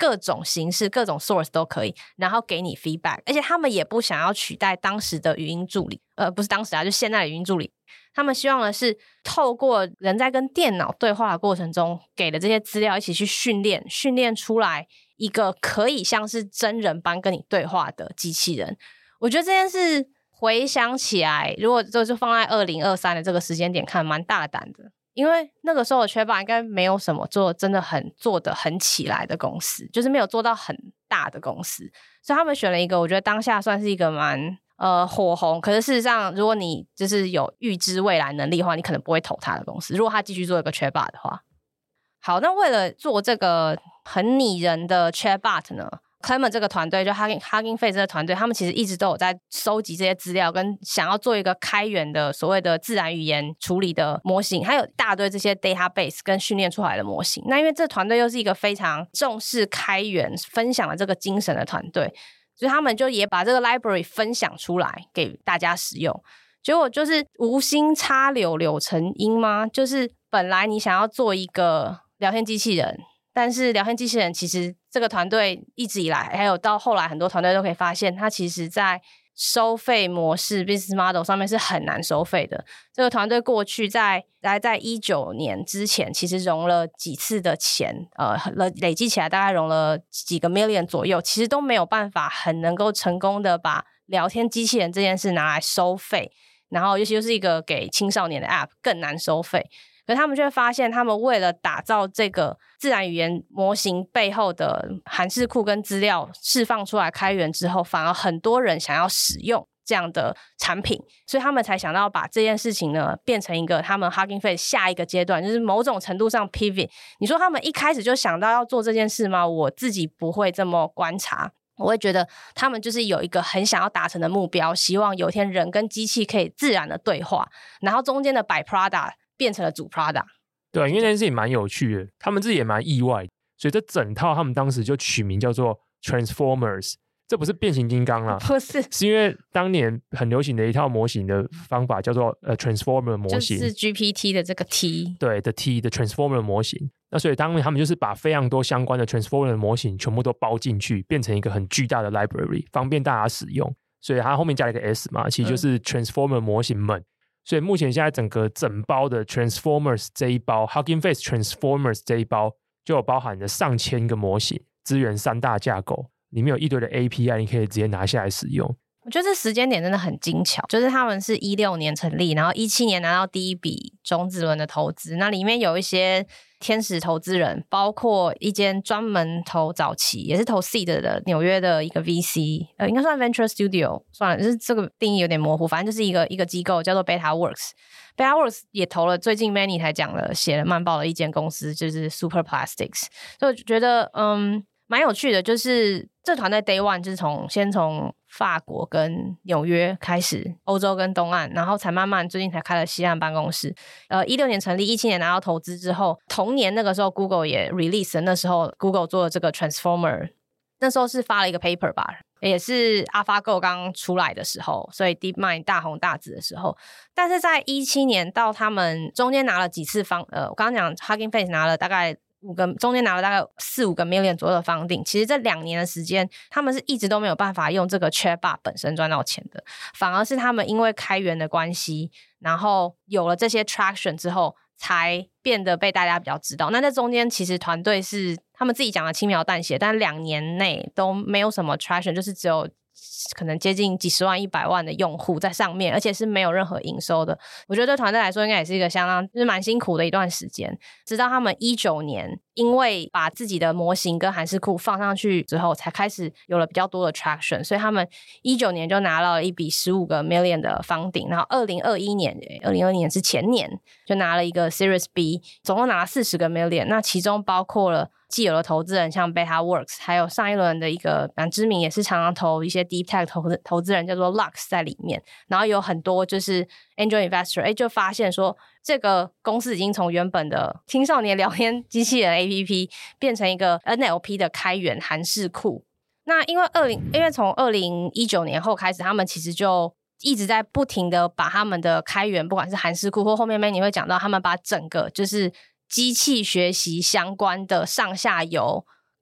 各種形式、各種 source 都可以，然後給你 feedback。而且他們也不想要取代當時的語音助理，呃，不是當時啊，就現在的語音助理。他們希望的是透過人在跟電腦對話的過程中給的這些資料一起去訓練，訓練出來一個可以像是真人般跟你對話的機器人。我覺得這件事回想起來，如果就是放在二零二三的這個時間點看，蠻大膽的。因為那個時候的Chatbot應該沒有什麼做真的很做得很起來的公司，就是沒有做到很大的公司，所以他們選了一個我覺得當下算是一個蠻呃火紅，可是事實上如果你就是有預知未來能力的話，你可能不會投他的公司，如果他繼續做一個Chatbot的話。好，那為了做這個很擬人的Chatbot呢，Clement 這個團隊就 Hugging Hugging Face 這個團隊，他們其實一直都有在收集這些資料，跟想要做一個開源的所謂的自然語言處理的模型，還有一大堆這些 database 跟訓練出來的模型。那因為這團隊又是一個非常重視開源分享的這個精神的團隊，所以他們就也把這個 library 分享出來給大家使用。結果就是無心插柳柳成蔭嗎？就是本來你想要做一個聊天機器人，但是聊天機器人其實這個團隊一直以來，還有到後來很多團隊都可以發現，它其實在收費模式 business model 上面是很難收費的。這個團隊過去在大概在一九年之前，其實融了幾次的錢，呃，累積起來大概融了幾個 million 左右，其實都沒有辦法很能夠成功的把聊天機器人這件事拿來收費，然後尤其就是一個給青少年的 app 更難收費。可是他們卻發現，他們為了打造這個自然語言模型背後的函式庫跟資料釋放出來開源之後，反而很多人想要使用這樣的產品，所以他們才想到把這件事情呢變成一個他們 Hugging Face 下一個階段，就是某種程度上 pivot。你說他們一開始就想到要做這件事嗎？我自己不會這麼觀察，我會覺得他們就是有一個很想要達成的目標，希望有一天人跟機器可以自然的對話，然後中間的 byproduct變成了主 product。 對，因為那件事情蠻有趣的，他們自己也蠻意外，所以這整套他們當時就取名叫做 Transformers。這不是變形金剛啦， 不是， 是因為當年很流行的一套模型的方法叫做呃 Transformer 模型， 就是 G P T 的這個 T， 對的 T 的 Transformer 模型。那所以當年他們就是把非常多相關的 Transformer 的模型全部都包進去，變成一個很巨大的 library， 方便大家使用。所以它後面加了一個 S 嘛，其實就是 Transformer 模型們。嗯，所以目前現在整個整包的 Transformers 這一包 Hugging Face Transformers 這一包就有包含了上千個模型，支援三大架構，裡面有一堆的 A P I， 你可以直接拿下來使用。 我覺得這時間點真的很精巧，就是他們是一六年成立，然後一七年拿到第一筆種子輪的投資，那裡面有一些天使投資人，包括一間專門投早期也是投 seed 的紐約的一個 V C， 呃，應該算 Venture Studio， 算了，就是這個定義有點模糊，反正就是一個一個機構叫做 BetaWorks。BetaWorks 也投了最近 Manny 才講了寫了慢報的一間公司，就是 Super Plastics。所以我覺得嗯蠻有趣的，就是這團隊 Day One 就是從先從法國跟紐約開始，歐洲跟東岸，然後才慢慢最近才開了西岸辦公室。呃，一六年成立，一七年拿到投資之後，同年那個時候 Google 也 release 了，那時候 Google 做了這個 Transformer， 那時候是發了一個 paper 吧，也是 AlphaGo 剛出來的時候，所以 DeepMind 大紅大紫的時候。但是在一七年到他們中間拿了幾次方，呃，我剛剛講 Hugging Face 拿了大概五個，中間拿了大概四五個 million 左右的 funding， 其實這兩年的時間，他們是一直都沒有辦法用這個 Chatbot 本身賺到錢的，反而是他們因為開源的關係，然後有了這些 traction 之後，才變得被大家比較知道。那在中間，其實團隊是他們自己講的輕描淡寫，但兩年內都沒有什麼 traction， 就是只有可能接近幾十萬、一百萬的用戶在上面，而且是沒有任何營收的。我覺得對團隊來說，應該也是一個相當就是蠻辛苦的一段時間。直到他們一九年，因為把自己的模型跟函式庫放上去之後，才開始有了比較多的 traction。所以他們一九年就拿了一筆十五個 million 的 funding， 然後二零二一年，二零二一年是前年就拿了一個 Series B， 總共拿了四十個 million。那其中包括了既有的投資人像 BetaWorks， 還有上一輪的一個蠻知名，也是常常投一些 Deep Tech 投資投資人叫做 Lux 在裡面，然後有很多就是 Angel Investor， 哎，就發現說這個公司已經從原本的青少年聊天機器人 A P P 變成一個 N L P 的開源函式庫。那因為二零，因為從二零一九年後開始，他們其實就一直在不停的把他們的開源，不管是函式庫或後面 Manny 會講到，他們把整個就是機器學習相關的上下游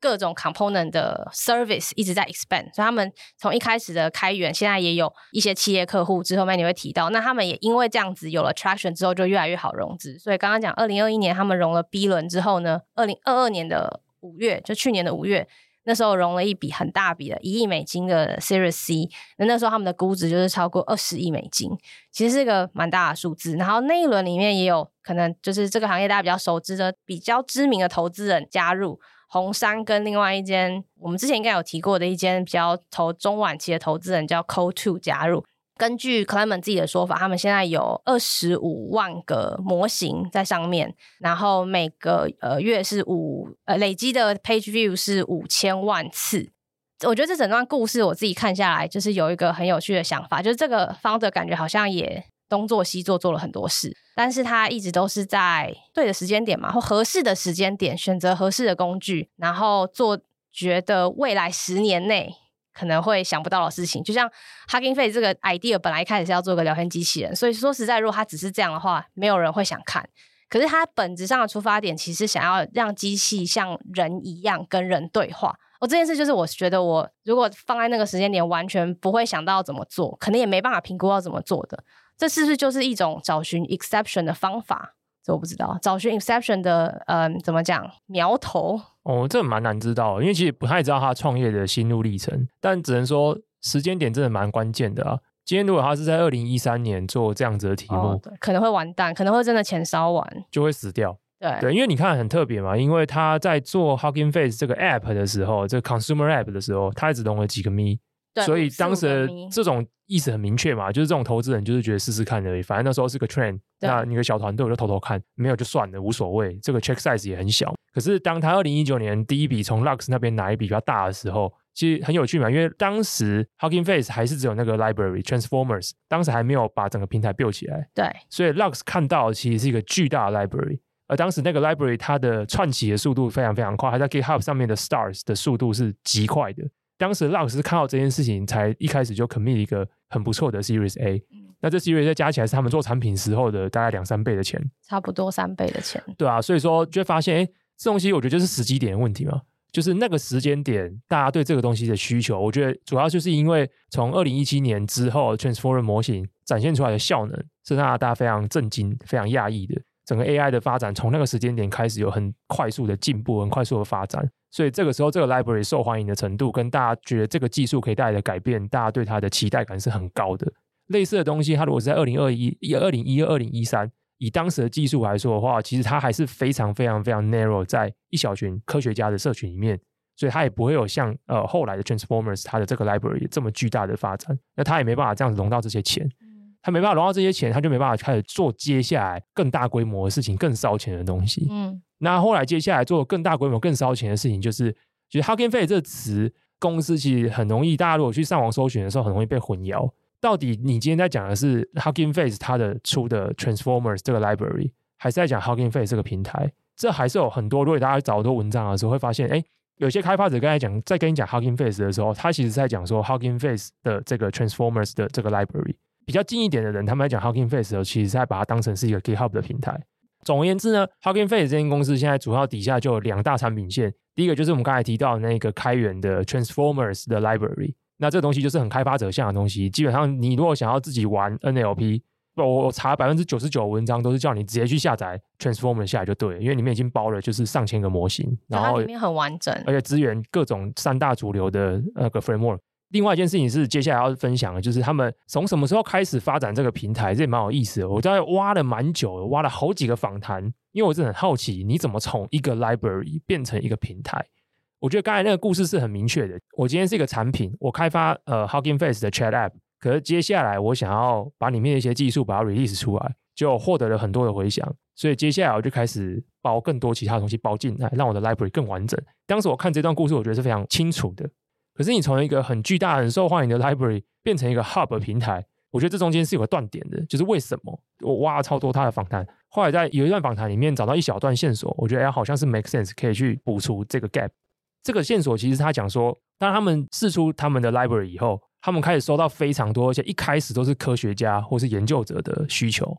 各種 component 的 service 一直在 expand， 所以他們從一開始的開源，現在也有一些企業客戶，之後面你會提到，那他們也因為這樣子有了 traction 之後，就越來越好融資。所以剛剛講二零二一年他們融了 B 輪之後呢，二零二二年的五月，就去年的五月。那時候融了一筆很大筆的一億美金的 Series C， 那那時候他們的估值就是超過二十億美金，其實是一個蠻大的數字。然後那一輪裡面也有可能就是這個行業大家比較熟知的、比較知名的投資人加入，紅杉跟另外一間我們之前應該有提過的一間比較投中晚期的投資人叫 Coatue 二加入。根據 Clement 自己的說法，他們現在有二十五萬個模型在上面，然後每個呃月是五呃累積的 page view 是五千萬次。我覺得這整段故事我自己看下來，就是有一個很有趣的想法，就是這個 founder 感覺好像也東做西做，做了很多事，但是他一直都是在對的時間點嘛，或合適的時間點選擇合適的工具，然後做覺得未來十年內可能會想不到的事情。就像 Hugging Face 這個 idea 本來一開始是要做個聊天機器人，所以說實在如果它只是這樣的話，沒有人會想看。可是它本質上的出發點其實想要讓機器像人一樣跟人對話。哦，這件事就是我覺得我如果放在那個時間點完全不會想到怎麼做，可能也沒辦法評估要怎麼做的。這是不是就是一種找尋 exception 的方法？這我不知道，找尋 exception 的嗯，怎麼講苗頭？ 哦，這蠻難知道的，因為其實不太知道他創業的心路歷程，但只能說時間點真的蠻關鍵的啊。今天如果他是在二零一三年做這樣子的題目， 哦，可能會完蛋，可能會真的錢燒完， 就會死掉。 對對，因為你看很特別嘛，因為他在做 Hugging Face 這個 app 的時候，這個 consumer app 的時候，他一直融了幾個咪，所以當時這種意思很明確嘛，就是這種投資人就是覺得試試看而已，反正那時候是個 trend， 那你個小團隊我就偷偷看，沒有就算了，無所謂，這個 check size 也很小。可是當他二零一九年第一筆從 Lux 那邊拿一筆比較大的時候，其實很有趣嘛，因為當時 Hugging Face 還是只有那個 library Transformers， 當時還沒有把整個平台 build 起來， 對， 所以 Lux 看到的其實是一個巨大的 library， 而當時那個 library 它的串起的速度非常非常快，還在 GitHub 上面的 stars 的速度是極快的。當時 Lux 是看到這件事情，才一開始就 commit 一個很不錯的 Series A，嗯。那這 Series A 加起來是他們做產品時候的大概兩三倍的錢， 差不多三倍的錢。 對啊，所以說就會發現，哎，這東西我覺得就是時機點的問題嘛，就是那個時間點大家對這個東西的需求，我覺得主要就是因為從二零一七年之後 Transformer 模型展現出來的效能是讓大家非常震驚、非常訝異的。整個 A I 的發展從那個時間點開始有很快速的進步、很快速的發展，所以這個時候這個 library 受歡迎的程度跟大家覺得這個技術可以帶來的改變，大家對它的期待感是很高的。類似的東西，它如果是在二零二一、二零一二、二零一三，以當時的技術來說的話，其實它還是非常非常非常 narrow 在一小群科學家的社群裡面，所以它也不會有像呃後來的 Transformers 它的這個 library 這麼巨大的發展，那它也沒辦法這樣子融到這些錢。他沒辦法融到這些錢，他就沒辦法開始做接下來更大規模的事情，更燒錢的東西。嗯，那後來接下來做更大規模、更燒錢的事情，就是其實 Hugging Face 這個詞，公司其實很容易，大家如果去上網搜尋的時候，很容易被混淆。到底你今天在講的是 Hugging Face 它的出的 Transformers 這個 library， 還是在講 Hugging Face 這個平台？這還是有很多，如果大家找很多文章的時候，會發現，哎，有些開發者剛才講，在跟你講 Hugging Face 的時候，他其實在講說 Hugging Face 的這個 Transformers 的這個 library。比較近一點的人，他們在講 Hugging Face 的時候，其實是在把它當成是一個 GitHub 的平台。總而言之呢 ，Hugging Face 這間公司現在主要底下就有兩大產品線。第一個就是我們剛才提到的那個開源的 Transformers 的 library， 那這個東西就是很開發者向的東西。基本上你如果想要自己玩 N L P， 我查百分之九十九文章都是叫你直接去下載 Transformers 下來就對了，因為裡面已經包了就是上千個模型，然後它裡面很完整， 而且支援各種三大主流的那個 framework。另外一件事情是接下來要分享的，就是他們從什麼時候開始發展這個平台，這也蠻有意思的。我在挖了蠻久的，挖了好幾個訪談，因為我真的很好奇，你怎麼從一個 library 變成一個平台？我覺得剛才那個故事是很明確的。我今天是一個產品，我開發呃 Hugging Face 的 Chat App， 可是接下來我想要把裡面的一些技術把它 release 出來，就獲得了很多的回響，所以接下來我就開始包更多其他東西包進來，讓我的 library 更完整。當時我看這段故事，我覺得是非常清楚的。可是你從一個很巨大、很受歡迎的 library 變成一個 hub 平台，我覺得這中間是有個斷點的，就是為什麼？我挖了超多他的訪談，後來在有一段訪談裡面找到一小段線索，我覺得好像是 make sense， 可以去補足這個 gap。這個線索其實他講說，當他們釋出他們的 library 以後，他們開始收到非常多，而且一開始都是科學家或是研究者的需求，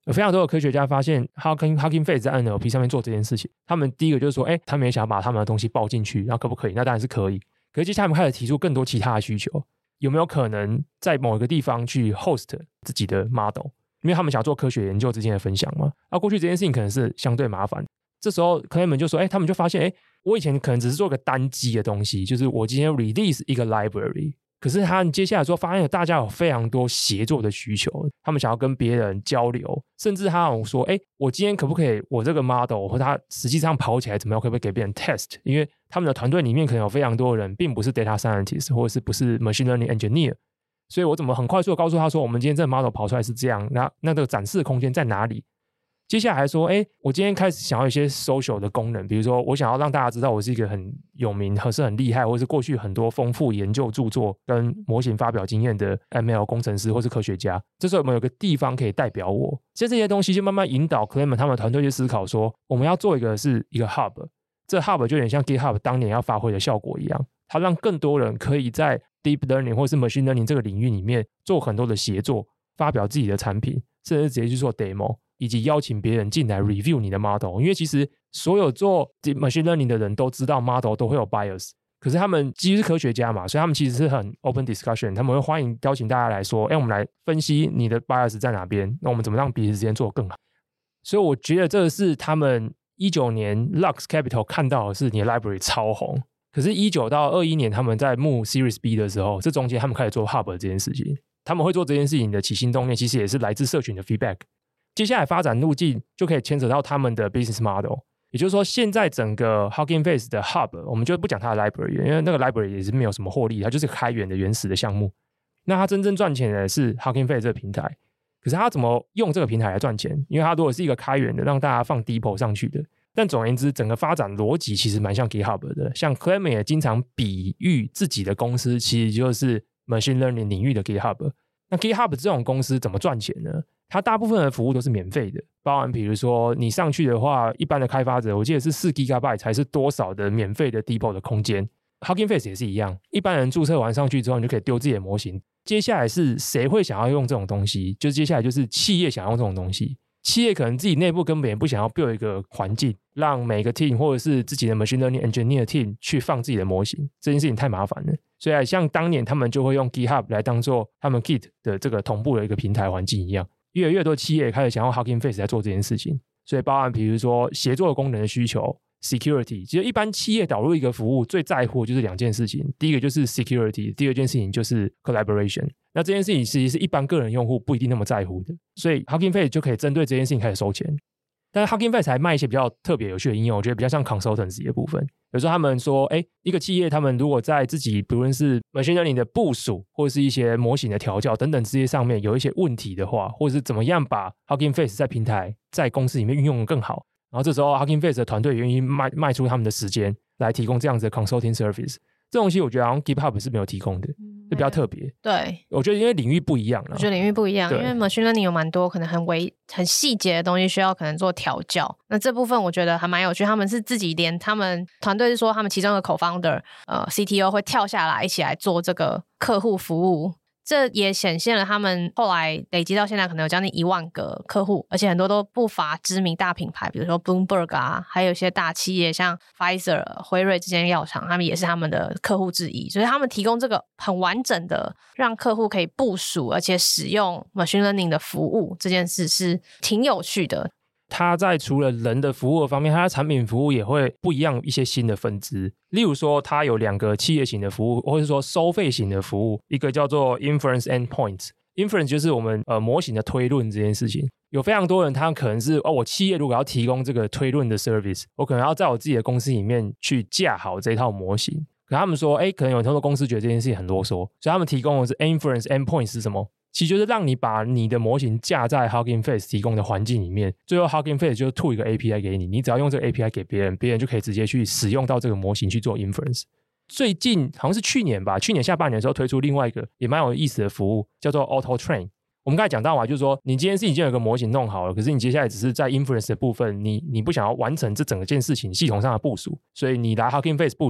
有非常多的科學家發現 Hugging, Hugging Face 在 N L P 上面做這件事情，他們第一個就是說，哎，他們也想要把他們的東西包進去，然後可不可以？那当然是可以。可是接下來他們開始提出更多其他的需求，有沒有可能在某一個地方去 host 自己的 model？ 因為他們想要做科學研究之間的分享嘛。那過去這件事情可能是相對麻煩，這時候 Clement 就說，哎，他們就發現，哎，我以前可能只是做個單機的東西，就是我今天 release 一個 library。可是他接下來說，發現大家有非常多協作的需求，他們想要跟別人交流，甚至他有說，哎，我今天可不可以，我這個 model 或他實際上跑起來怎麼樣，可不可以給別人 test？ 因為他們的團隊裡面可能有非常多的人，並不是 data scientist 或者是不是 machine learning engineer， 所以我怎麼很快速的告訴他說，我們今天這個 model 跑出來是這樣，那那這個展示的空間在哪裡？接下來還說，哎，我今天開始想要一些 social 的功能，比如說我想要讓大家知道我是一個很有名、或是很厲害，或是過去很多豐富研究著作跟模型發表經驗的 M L 工程師或是科學家。這時候我們有個地方可以代表我，其實這些東西就慢慢引導 Clement 他們團隊去思考說，我們要做一個是一個 hub， 這 hub 就有點像 GitHub 當年要發揮的效果一樣，它讓更多人可以在 deep learning 或是 machine learning 這個領域裡面做很多的協作，發表自己的產品，甚至直接去做 demo。以及邀請別人進來 review 你的 model， 因為其實所有做 machine learning 的人都知道 model 都會有 bias， 可是他們基於是科學家嘛，所以他們其實是很 open discussion， 他們會歡迎邀請大家來說，哎，我們來分析你的 bias 在哪邊，那我們怎麼讓彼此之間做得更好。所以我覺得這是他們一九年 Lux Capital 看到的是你的 library 超紅，可是一九到二一年他們在募 Series B 的時候，這中間他們開始做 hub 這件事情，他們會做這件事情的起心動念其實也是來自社群的 feedback。接下來發展路徑就可以牽扯到他們的 business model， 也就是說，現在整個 Hugging Face 的 hub， 我們就不講它的 library， 因為那個 library 也是沒有什麼獲利，它就是開源的原始的項目。那它真正賺錢的是 Hugging Face 這個平台，可是它怎麼用這個平台來賺錢？因為它如果是一個開源的，讓大家放 depot 上去的，但總而言之，整個發展邏輯其實蠻像 GitHub 的。像 Clement 也經常比喻自己的公司其實就是 machine learning 領域的 GitHub。那 GitHub 這種公司怎麼賺錢呢？它大部分的服務都是免費的，包含比如說你上去的話，一般的開發者我記得是四 G B 才是多少的免費的 depot 的空間。Hugging Face 也是一樣，一般人註冊完上去之後，你就可以丟自己的模型。接下來是誰會想要用這種東西？就接下來就是企業想要用這種東西。企業可能自己內部根本也不想要 build 一個環境，讓每個 team 或者是自己的 machine learning engineer team 去放自己的模型，這件事情太麻煩了。所以像當年他們就會用 GitHub 來當做他們 Git 的這個同步的一個平台環境一樣。越來越多企業開始想要 Hugging Face 來做這件事情，所以包含比如說協作功能的需求 security， 其實一般企業導入一個服務最在乎就是兩件事情，第一個就是 security， 第二件事情就是 collaboration。那這件事情其實是一般個人用戶不一定那麼在乎的，所以 Hugging Face 就可以針對這件事情開始收錢。但是 Hugging Face 還賣一些比較特別有趣的應用，我覺得比較像 consultancy 的部分。有時候他們說，哎，一個企業他們如果在自己不論是 machine learning 的部署，或者是一些模型的調教等等這些上面有一些問題的話，或者是怎麼樣把 Hugging Face 在平台在公司裡面運用得更好，然後這時候 Hugging Face 的團隊願意賣賣出他們的時間來提供這樣子的 consulting service。這東西我覺得好像 GitHub 是沒有提供的，就比較特別。 對， 我覺得因為領域不一樣了。 我覺得領域不一樣，因為 machine learning 有蠻多可能很微、很細節的東西需要可能做調教。那這部分我覺得還蠻有趣，他們是自己連他們團隊是說，他們其中的 co-founder 呃 C T O 會跳下來一起來做這個客戶服務。這也顯現了他們後來累積到現在可能有將近一萬個客戶，而且很多都不乏知名大品牌，比如說 Bloomberg 啊，還有一些大企業像 Pfizer、輝瑞這間藥廠，他們也是他們的客戶之一。所以他們提供這個很完整的讓客戶可以部署而且使用 machine learning 的服務，這件事是挺有趣的。 它在除了人的服務的方面，它的產品服務也會不一樣一些新的分支。例如說，它有兩個企業型的服務，或者說收費型的服務，一個叫做 Inference Endpoints。Inference 就是我們呃模型的推論這件事情。有非常多人，他可能是哦，我企業如果要提供這個推論的 service， 我可能要在我自己的公司裡面去架好這一套模型。可他們說，哎，可能有很多公司覺得這件事情很囉嗦，所以他們提供的是 Inference Endpoints 是什麼？其實就是讓你把你的模型架在 Hugging Face 提供的環境裡面，最後 Hugging Face 就吐一個 A P I 給你，你只要用這個 A P I 給別人，別人就可以直接去使用到這個模型去做 inference。最近好像是去年吧，去年下半年的時候推出另外一個也蠻有意思的服務，叫做 Auto Train。我們剛才講到嘛，就是說你今天是已經有一個模型弄好了，可是你接下來只是在 inference 的部分，你你不想要完成這整個件事情系統上的部署，所以你來 Hugging Face 部署。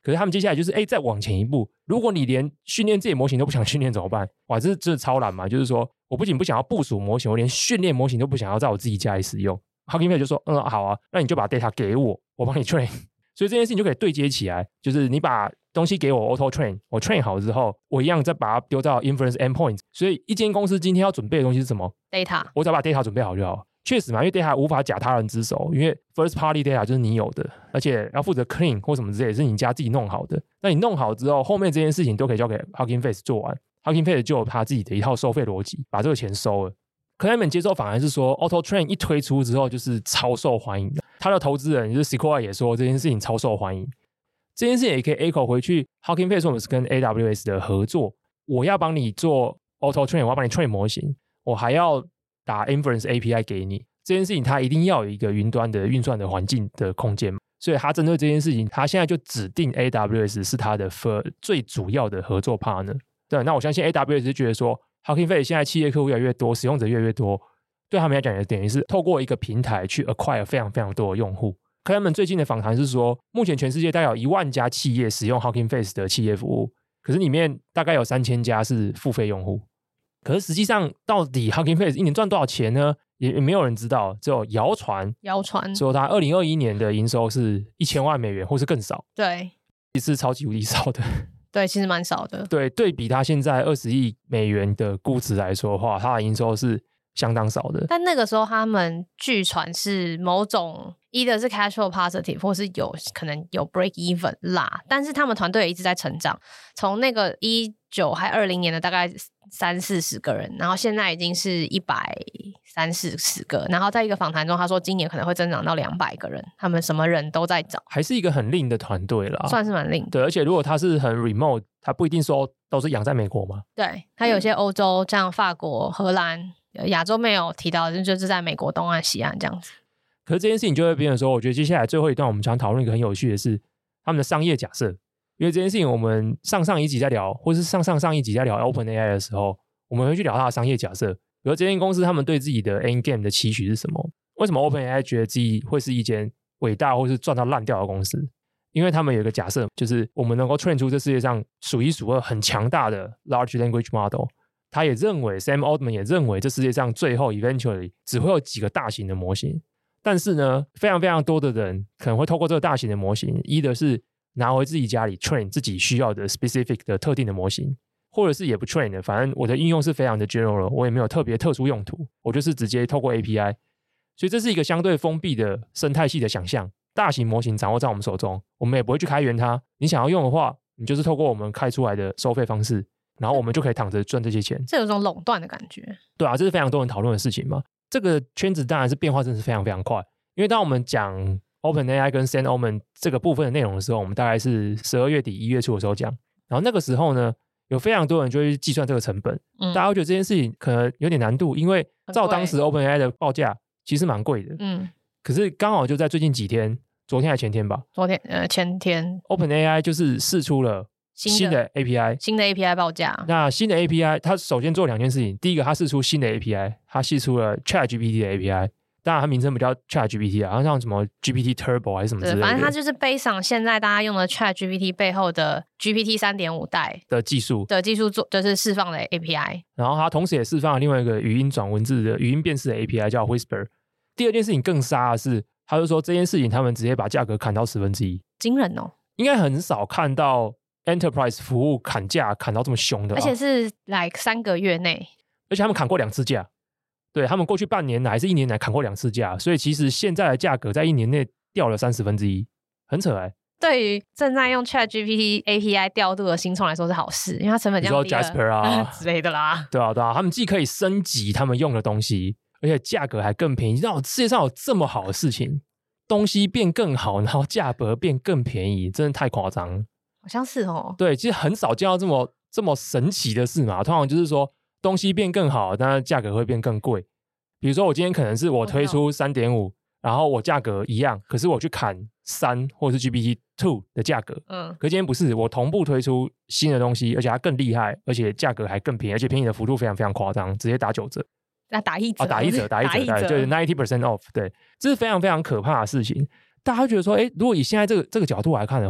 可是他們接下來就是哎，再往前一步，如果你連訓練自己模型都不想訓練怎麼辦？哇，這這超難嘛！就是說，我不僅不想要部署模型，我連訓練模型都不想要在我自己家裡使用。Hugging Face 就說，嗯，好啊，那你就把 data 給我，我幫你 train。所以這件事情就可以對接起來，就是你把東西給我 auto train， 我 train 好之後，我一樣再把它丟到 inference endpoint。所以一間公司今天要準備的東西是什麼 ？data， 我只要把 data 準備好就好。確實嘛，因為 data 無法假他人之手，因為 first party data 就是你有的，而且要負責 clean 或什麼之類，是你家自己弄好的。那你弄好之後，後面這件事情都可以交給 Hugging Face 做完。Hugging Face 就有他自己的一套收費邏輯，把這個錢收了。Clement 接受訪談是說 ，Auto Train 一推出之後就是超受歡迎的。他的投資人就是 Sequoia 也說這件事情超受歡迎。這件事情也可以 echo 回去 Hugging Face 我們是跟 A W S 的合作，我要幫你做 Auto Train， 我要幫你 train 模型，我還要打 Inference A P I 給你。這件事情它一定要有一個雲端的運算的環境的空間，所以他針對這件事情，他現在就指定 A W S 是他的最主要的合作 partner。對，那我相信 A W S 是覺得說 Hugging Face 現在企業客戶越來越多，使用者越來越多，對他們來講也等於是透過一個平台去 acquire 非常非常多的用戶。Clement最近的訪談是說，目前全世界大概有一萬家企業使用 Hugging Face 的企業服務，可是裡面大概有三千家是付費用戶。可是實際上，到底 Hugging Face 一年賺多少錢呢？也也沒有人知道，只有謠傳。謠傳說他二零二一年的營收是一千萬美元，或是更少。 對， 其實是超級無敵少的。 對，其實蠻少的。 對，對比他現在二十億美元的估值來說的話，他的營收是相當少的。 但那個時候他們據傳是某種either是 cash flow positive， 或是有可能有 break even 啦。但是他們團隊也一直在成長，從那個一九還二零年的大概三四十個人，然後現在已經是一百三四十個。然後在一個訪談中，他說今年可能會增長到兩百個人，他們什麼人都在找， 還是一個很 lean 的團隊啦， 算是蠻 lean。 對，而且如果他是很 remote，他不一定說都是養在美國嘛。 對，他有些歐洲，像法國、荷蘭、亞洲沒有提到，就是在美國東岸、西岸這樣子。 可是這件事情就會變成說，我覺得接下來最後一段我們想討論一個很有趣的是他們的商業假設。因為這件事情，我們上上一集在聊，或是上上上一集在聊 OpenAI 的時候，我們會去聊它的商業假設。比如這間公司他們對自己的 end game 的期許是什麼？為什麼 OpenAI 覺得自己會是一間偉大或是賺到爛掉的公司？因為他們有一個假設，就是我們能夠 train 出這世界上數一數二很強大的 large language model。他也認為 Sam Altman 也認為這世界上最後 eventually 只會有幾個大型的模型。但是呢，非常非常多的人可能會透過這個大型的模型，一的是拿回自己家裡 train 自己需要的 specific 的特定的模型，或者是也不 train 的，反正我的應用是非常的 general， 我也沒有特別特殊用途，我就是直接透過 A P I。 所以這是一個相对封閉的生態系的想象，大型模型掌握在我們手中，我們也不會去開源它，你想要用的話，你就是透過我們開出來的收費方式，然後我們就可以躺着賺這些錢。 這有種壟斷的感覺。對啊，這是非常多人討論的事情嘛。這個圈子當然是變化真的是非常非常快，因為當我們講OpenAI 跟 Sam Altman 這個部分的內容的時候，我們大概是十二月底一月初的時候講，然後那個時候呢，有非常多人就會去計算這個成本，嗯、大家會覺得這件事情可能有點難度，因為照當時 OpenAI 的報價其實蠻貴的，嗯，可是剛好就在最近幾天，昨天還前天吧， 昨天呃前天 OpenAI 就是釋出了新的 A P I， 新的 A P I 報價。那新的 A P I 它首先做兩件事情，第一個它釋出新的 A P I， 它釋出了 ChatGPT 的 A P I。當然它名稱不叫 ChatGPT 啊，好像什麼 G P T Turbo 還是什麼之類的。對，反正它就是 based on 現在大家用的 ChatGPT 背後的 G P T 三點五 代的技術的技術做，就是釋放的 A P I。 然後它同時也釋放了另外一個語音轉文字的語音辨識的 A P I 叫 Whisper。第二件事情更殺的是，他就說這件事情他們直接把價格砍到十分之一， 驚人哦！ 應該很少看到 Enterprise 服務砍價砍到這麼凶的， 而且是 like 三個月內， 而且他們砍過兩次價。對，他們過去半年來還是一年來砍過兩次價，所以其實現在的價格在一年內掉了三十分之一，很扯哎、欸。 對於正在用 ChatGPT A P I 調度的新創來說是好事，因為它成本降低了， 比如說 Jasper 啊之類的啦。 對啊對啊，他們既可以升級他們用的東西，而且價格還更便宜。讓世界上有這麼好的事情，東西變更好，然後價格變更便宜，真的太誇張了。 好像是哦。對， 其實很少見到這麼這麼神奇的事嘛。通常就是說東西變更好，但是價格會變更貴。比如說我今天可能是我推出 三點五， 然後我價格一樣，可是我去砍三或是 G P T 二 的價格，嗯，可是今天不是，我同步推出新的東西，而且它更厲害，而且價格還更便宜，而且便宜的幅度非常非常誇張，直接打九折。 那打一折、哦、 打一折，打一折，打一折，就是 百分之九十 off。對，這是非常非常可怕的事情。大家會覺得說，哎，如果以現在這個這個角度來看的話，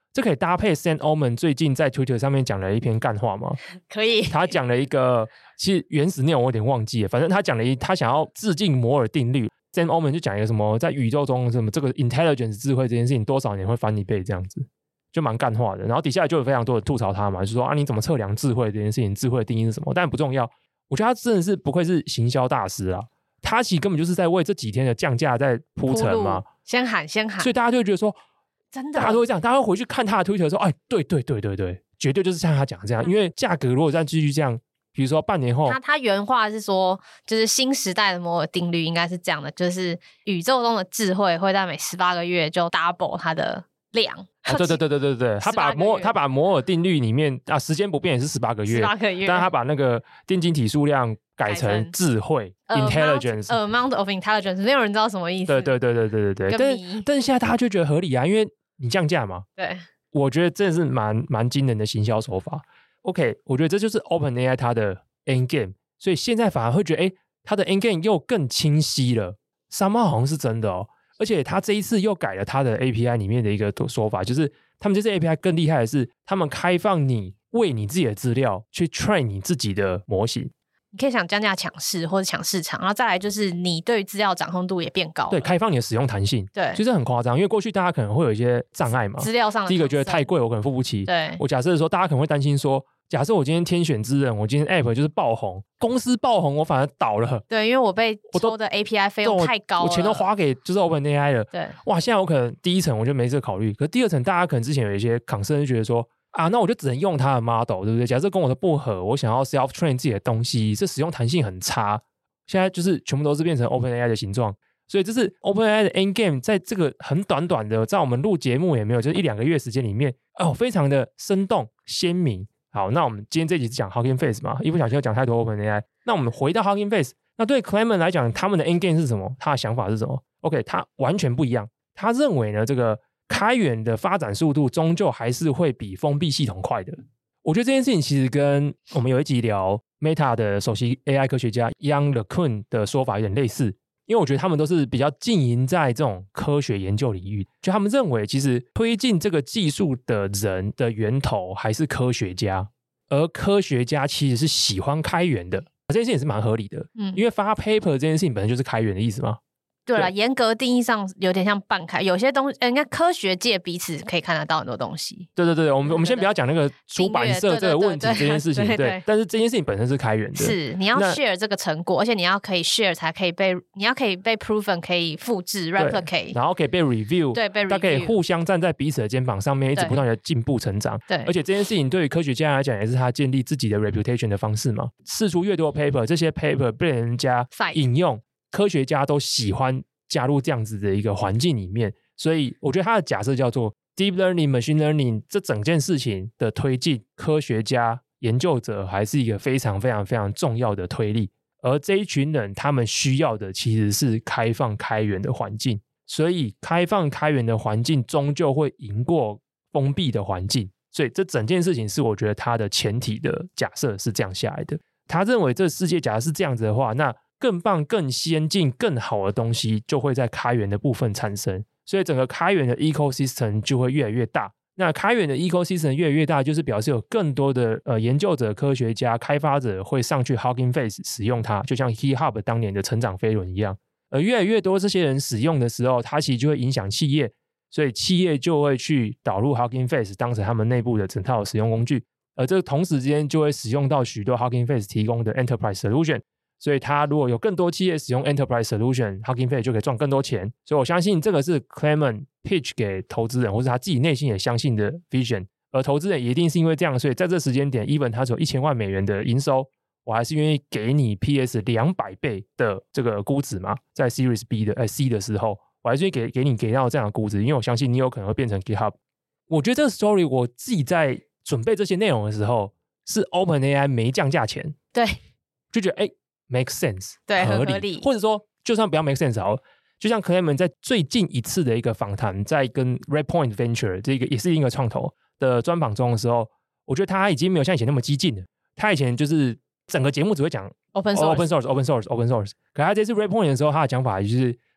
這可以搭配 Sam Altman 最近在 Twitter 上面講了一篇幹話嗎？ 可以。 他講了一個，其實原始內容我有點忘記了，反正他講了一，他想要致敬摩爾定律。Sam Altman 就講一個什麼，在宇宙中什麼這個 intelligence 智慧這件事情多少年會翻一倍這樣子，就蠻幹話的。然後底下就有非常多的吐槽他嘛，就說啊你怎麼測量智慧這件事情，智慧的定義是什麼？但不重要。我覺得他真的是不愧是行銷大師啊，他其實根本就是在為這幾天的降價在鋪陳嘛， 先喊先喊， 所以大家就會覺得說。真的，大家都會這樣，大家會回去看他的推特說，哎，對對對對對，絕對就是像他講的這樣，因為價格如果再繼續這樣，比如說半年後， 他他原話是說，就是新時代的摩爾定律應該是這樣的，就是宇宙中的智慧會在每十八個月就 double 它的量。 啊、對對對對對對，他把摩他把摩爾定律裡面啊，時間不變也是十八個月，十八個月，但他把那個電晶體數量改成智慧 intelligence amount of intelligence， 沒有人知道什麼意思。 對對對對對對對，但是但是現在大家就覺得合理啊，因為你降價嘛， 對， 我覺得真的是蠻蠻驚人的行銷手法。OK， 我覺得這就是 OpenAI 它的 end game， 所以現在反而會覺得，哎，它的 end game 又更清晰了。Somehow好像是真的哦，而且它這一次又改了它的 A P I 裡面的一個說法，就是他們這次 A P I 更厲害的是，他們開放你為你自己的資料去 train 你自己的模型。 你可以想降價搶市或者搶市場，然後再來就是你對資料掌控度也變高了， 對，開放你的使用彈性， 對， 其實很誇張，因為過去大家可能會有一些障礙嘛， 資料上的， 第一個覺得太貴，我可能付不起， 對， 我假設說大家可能會擔心說，假設我今天天選之人，我今天 App 就是爆紅，公司爆紅，我反而倒了， 對，因為我被抽的 A P I 費用太高了， 我，我錢都花給就是 OpenAI 了， 對， 哇，現在我可能第一層我就沒這個考慮，可是第二層大家可能之前有一些 concern 就覺得說，啊，那我就只能用它的 model， 對不對？假設跟我的不合，我想要 self train 自己的東西，這使用彈性很差。現在就是全部都是變成 OpenAI 的形狀，所以這是 OpenAI 的 end game， 在這個很短短的，在我們錄節目也沒有，就是一兩個月時間裡面，哦，非常的生動鮮明。好，那我們今天這集是講 Hugging Face 嘛，一不小心又講太多 OpenAI， 那我們回到 Hugging Face， 那對 Clement 來講，他們的 end game 是什麼？他的想法是什麼 ？OK， 他完全不一樣，他認為呢，這個開源的發展速度終究還是會比封閉系統快的。我覺得這件事情其實跟我們有一集聊 Meta 的首席 A I 科學家 Yann LeCun 的說法有點類似，因為我覺得他們都是比較經營在這種科學研究領域，就他們認為其實推進這個技術的人的源頭還是科學家，而科學家其實是喜歡開源的，這件事情也是蠻合理的，嗯，因為發 paper 這件事情本身就是開源的意思嘛。 對了，嚴格定義上有點像半開，有些東西，人家科學界彼此可以看得到很多東西。 對對對，我們我們先不要講那個出版社這個問題這件事情，對，對，對，對，對，對，但是這件事情本身是開源的， 是你要 share 這個成果，而且你要可以 share 才可以被，你要可以被 proven 可以複製 replicate， 然後可以被 review， 對，被 review， 它可以互相站在彼此的肩膀上面，一直不斷的進步成長。對，而且這件事情對於科學家來講，也是他建立自己的 reputation 的方式嘛。釋出越多 paper， 這些 paper 被人家引用，科學家都喜歡加入這樣子的一個環境裡面，所以我覺得他的假設叫做 deep learning、machine learning 這整件事情的推進，科學家、研究者還是一個非常非常非常重要的推力。而這一群人，他們需要的其實是開放開源的環境，所以開放開源的環境終究會贏過封閉的環境。所以這整件事情是我覺得他的前提的假設是這樣下來的。他認為這世界假設是這樣子的話，那更棒、更先進、更好的東西就會在開源的部分產生，所以整個開源的 ecosystem 就會越來越大。那開源的 ecosystem 越來越大，就是表示有更多的呃研究者、科學家、開發者會上去 Hugging Face 使用它，就像 GitHub 當年的成長飛輪一樣。而越來越多這些人使用的時候，它其實就會影響企業，所以企業就會去導入 Hugging Face 當成他們內部的整套使用工具，而這個同時之間就會使用到許多 Hugging Face 提供的 Enterprise Solution。所以他如果有更多企業使用 Enterprise Solution，Hugging Face 就可以賺更多錢。所以我相信這個是 Clement pitch 給投資人，或是他自己內心也相信的 vision。而投資人也一定是因為這樣，所以在這時間點 ，even 他只有一千萬美元的營收，我還是願意給你 P S 兩百倍的這個估值嘛。在 Series B 的、呃、C 的時候，我還是願意給給你給到這樣的估值，因為我相信你有可能會變成 GitHub。我覺得這個 story 我自己在準備這些內容的時候，是 OpenAI 沒降價前， 對， 就覺得哎。誒make sense， 對， 合理， 合理， 或者說，就算不要 make sense 好了，就像 Clement 在最近一次的一個訪談，在跟 Redpoint Venture 這個也是一個創投的專訪中的時候，我覺得他已經沒有像以前那麼激進了。他以前就是整個節目只會講 open source，open source，open source，open source。可他這次 Redpoint 的時候，他的講法就是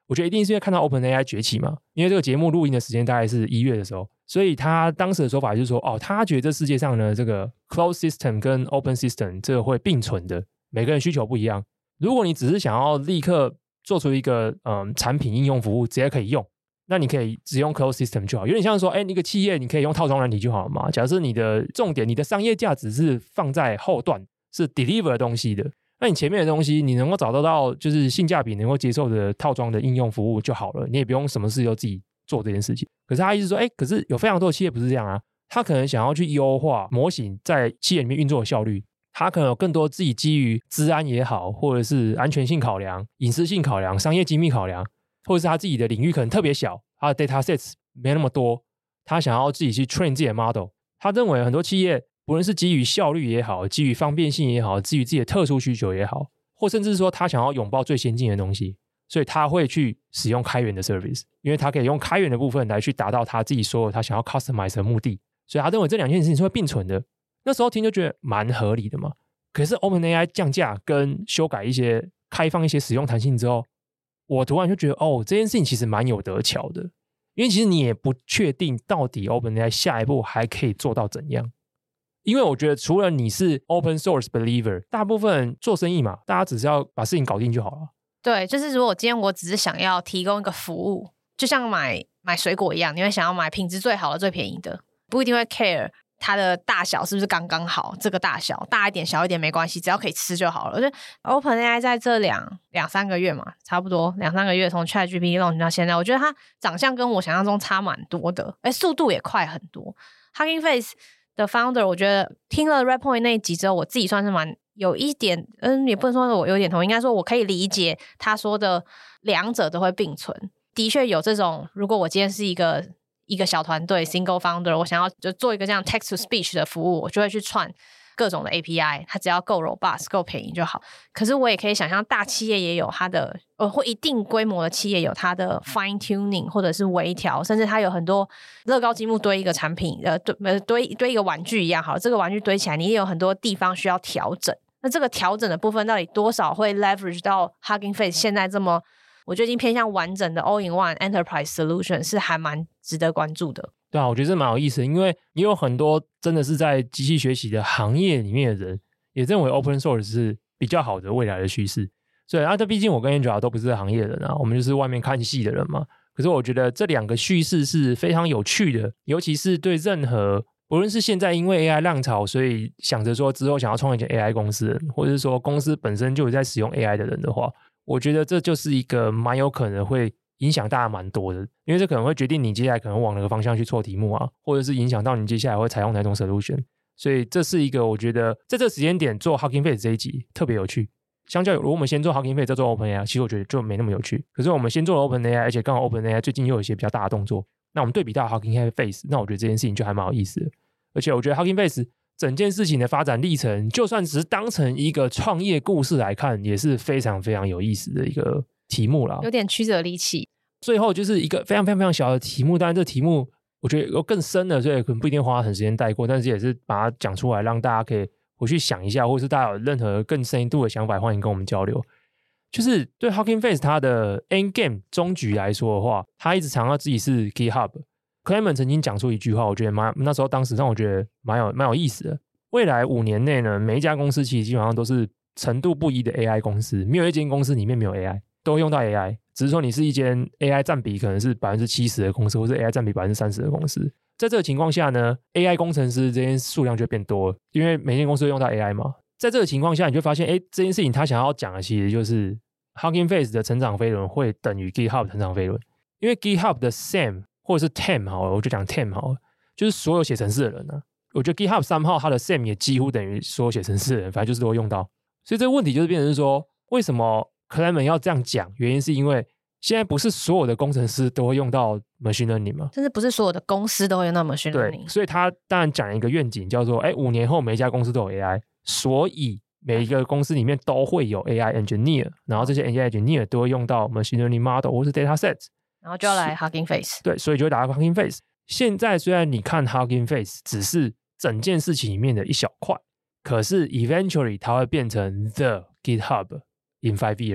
我覺得一定是因為看到 OpenAI 崛起嘛，因為這個節目錄音的時間大概是一月的時候，所以他當時的說法就是說，哦，他覺得這世界上呢，這個 Closed System 跟 Open System 這個會並存的，每個人需求不一樣。如果你只是想要立刻做出一個嗯產品應用服務，直接可以用，那你可以只用 Closed System 就好，有點像說，哎，那個企業你可以用套裝軟體就好了嘛。假設你的重點，你的商業價值是放在後段，是 deliver 的東西的。那你前面的東西，你能夠找得到就是性價比能夠接受的套裝的應用服務就好了，你也不用什麼事都自己做這件事情。可是他意思說，哎，可是有非常多的企業不是這樣啊，他可能想要去優化模型在企業裡面運作的效率，他可能有更多自己基於資安也好，或者是安全性考量、隱私性考量、商業機密考量，或者是他自己的領域可能特別小，他的 data sets 沒那麼多，他想要自己去 train 自己的 model。他認為很多企業，不論是基於效率也好，基於方便性也好，基於自己的特殊需求也好，或甚至是說他想要擁抱最先進的東西，所以他會去使用開源的 service， 因為他可以用開源的部分來去達到他自己所有他想要 customize 的目的，所以他認為這兩件事情是會並存的。那時候聽就覺得蠻合理的嘛。可是 OpenAI 降價跟修改一些開放一些使用彈性之後，我突然就覺得哦，這件事情其實蠻有得巧的，因為其實你也不確定到底 OpenAI 下一步還可以做到怎樣。因為我覺得除了你是 open source believer， 大部分人做生意嘛，大家只是要把事情搞定就好了。 對，就是如果今天我只是想要提供一個服務，就像買買水果一樣，你會想要買品質最好的、最便宜的，不一定會 care 它的大小是不是剛剛好，這個大小大一點、小一點沒關係，只要可以吃就好了。我覺得 OpenAI 在這兩兩三個月嘛，差不多兩三個月從 ChatGPT launch 到現在，我覺得它長相跟我想象中差蠻多的，哎，速度也快很多。Hugging Face的 founder， 我覺得聽了 Redpoint 那一集之後，我自己算是蠻有一點，嗯，也不能說是我有點同意，應該說我可以理解他說的兩者都會並存。的確有這種，如果我今天是一個一個小團隊 single founder， 我想要就做一個這樣 text to speech 的服務，我就會去串各種的 A P I， 它只要夠 robust 夠便宜就好。可是我也可以想象大企業也有它的呃，或一定規模的企業有它的 fine tuning 或者是微調，甚至它有很多樂高積木堆一個產品呃堆呃堆堆一個玩具一樣好，這個玩具堆起來你也有很多地方需要調整，那這個調整的部分到底多少會 leverage 到 Hugging Face 現在這麼我覺得已經偏向完整的 all in one enterprise solution， 是還蠻值得關注的。 對啊，我覺得這蠻有意思的，因為也有很多真的是在機器學習的行業裡面的人也認為 open source 是比較好的未來的趨勢。所以啊，這畢竟我跟 Angela 都不是行業的人啊，我們就是外面看戲的人嘛。可是我覺得這兩個敘事是非常有趣的，尤其是對任何不論是現在因為 A I 浪潮，所以想着說之後想要創立一間 A I 公司的人，或者是說公司本身就有在使用 A I 的人的話，我覺得這就是一個蠻有可能會影響大家蠻多的，因為這可能會決定你接下來可能往哪個方向去做題目啊，或者是影響到你接下來會採用哪種 solution。所以這是一個我覺得在這個時間點做 Hugging Face 這一集特別有趣。相較於如果我們先做 Hugging Face 再做 OpenAI， 其實我覺得就沒那麼有趣。可是我們先做了 OpenAI， 而且剛好 OpenAI 最近又有一些比較大的動作，那我們對比到 Hugging Face， 那我覺得這件事情就還蠻有意思的。而且我覺得 Hugging Face 整件事情的發展歷程，就算只是當成一個創業故事來看，也是非常非常有意思的一個題目啦， 有點曲折離奇。 最後就是一個非常非常非常小的題目，當然這題目我覺得有更深的，所以可能不一定花很時間帶過，但是也是把它講出來，讓大家可以回去想一下，或是大家有任何更深度的想法，歡迎跟我們交流。就是對 Hugging Face 它的 end game 終局來說的話，他一直強調自己是 GitHub。Clement 曾經講出一句話，我覺得蠻那時候當時讓我覺得蠻有蠻有意思的。未來五年內呢，每一家公司其實基本上都是程度不一的 A I 公司，沒有一間公司裡面沒有 A I， 都會用到 A I。只是說你是一間 A I 佔比可能是 百分之七十 的公司，或是 A I 佔比 百分之三十 的公司。在這個情況下呢 ，A I 工程師這件數量就會變多了，因為每間公司都用到 A I 嘛。在這個情況下，你就發現，哎，這件事情他想要講的其實就是 Hugging Face 的成長飛輪會等於 GitHub 的成長飛輪，因為 GitHub 的 Sam 或者是 Team 好了，我就講 Team 好了，就是所有寫程式的人呢、啊。我覺得 GitHub 三號它的 Sam 也幾乎等於所有寫程式的人，反正就是都會用到。所以這個問題就是變成是說，為什麼 Clement 要這樣講？原因是因為現在不是所有的工程師都會用到 machine learning 嗎？甚至不是所有的公司都會用到 machine learning。 對，所以他當然講一個願景，叫做哎，五年後每一家公司都有 A I， 所以每一個公司裡面都會有 A I engineer， 然後這些 A I engineer 都會用到 machine learning model 或是 data sets， 然後就要來 Hugging Face。 對，所以就會打到 Hugging Face。現在雖然你看 Hugging Face 只是整件事情裡面的一小塊，可是 eventually 它會變成 the GitHub in five years。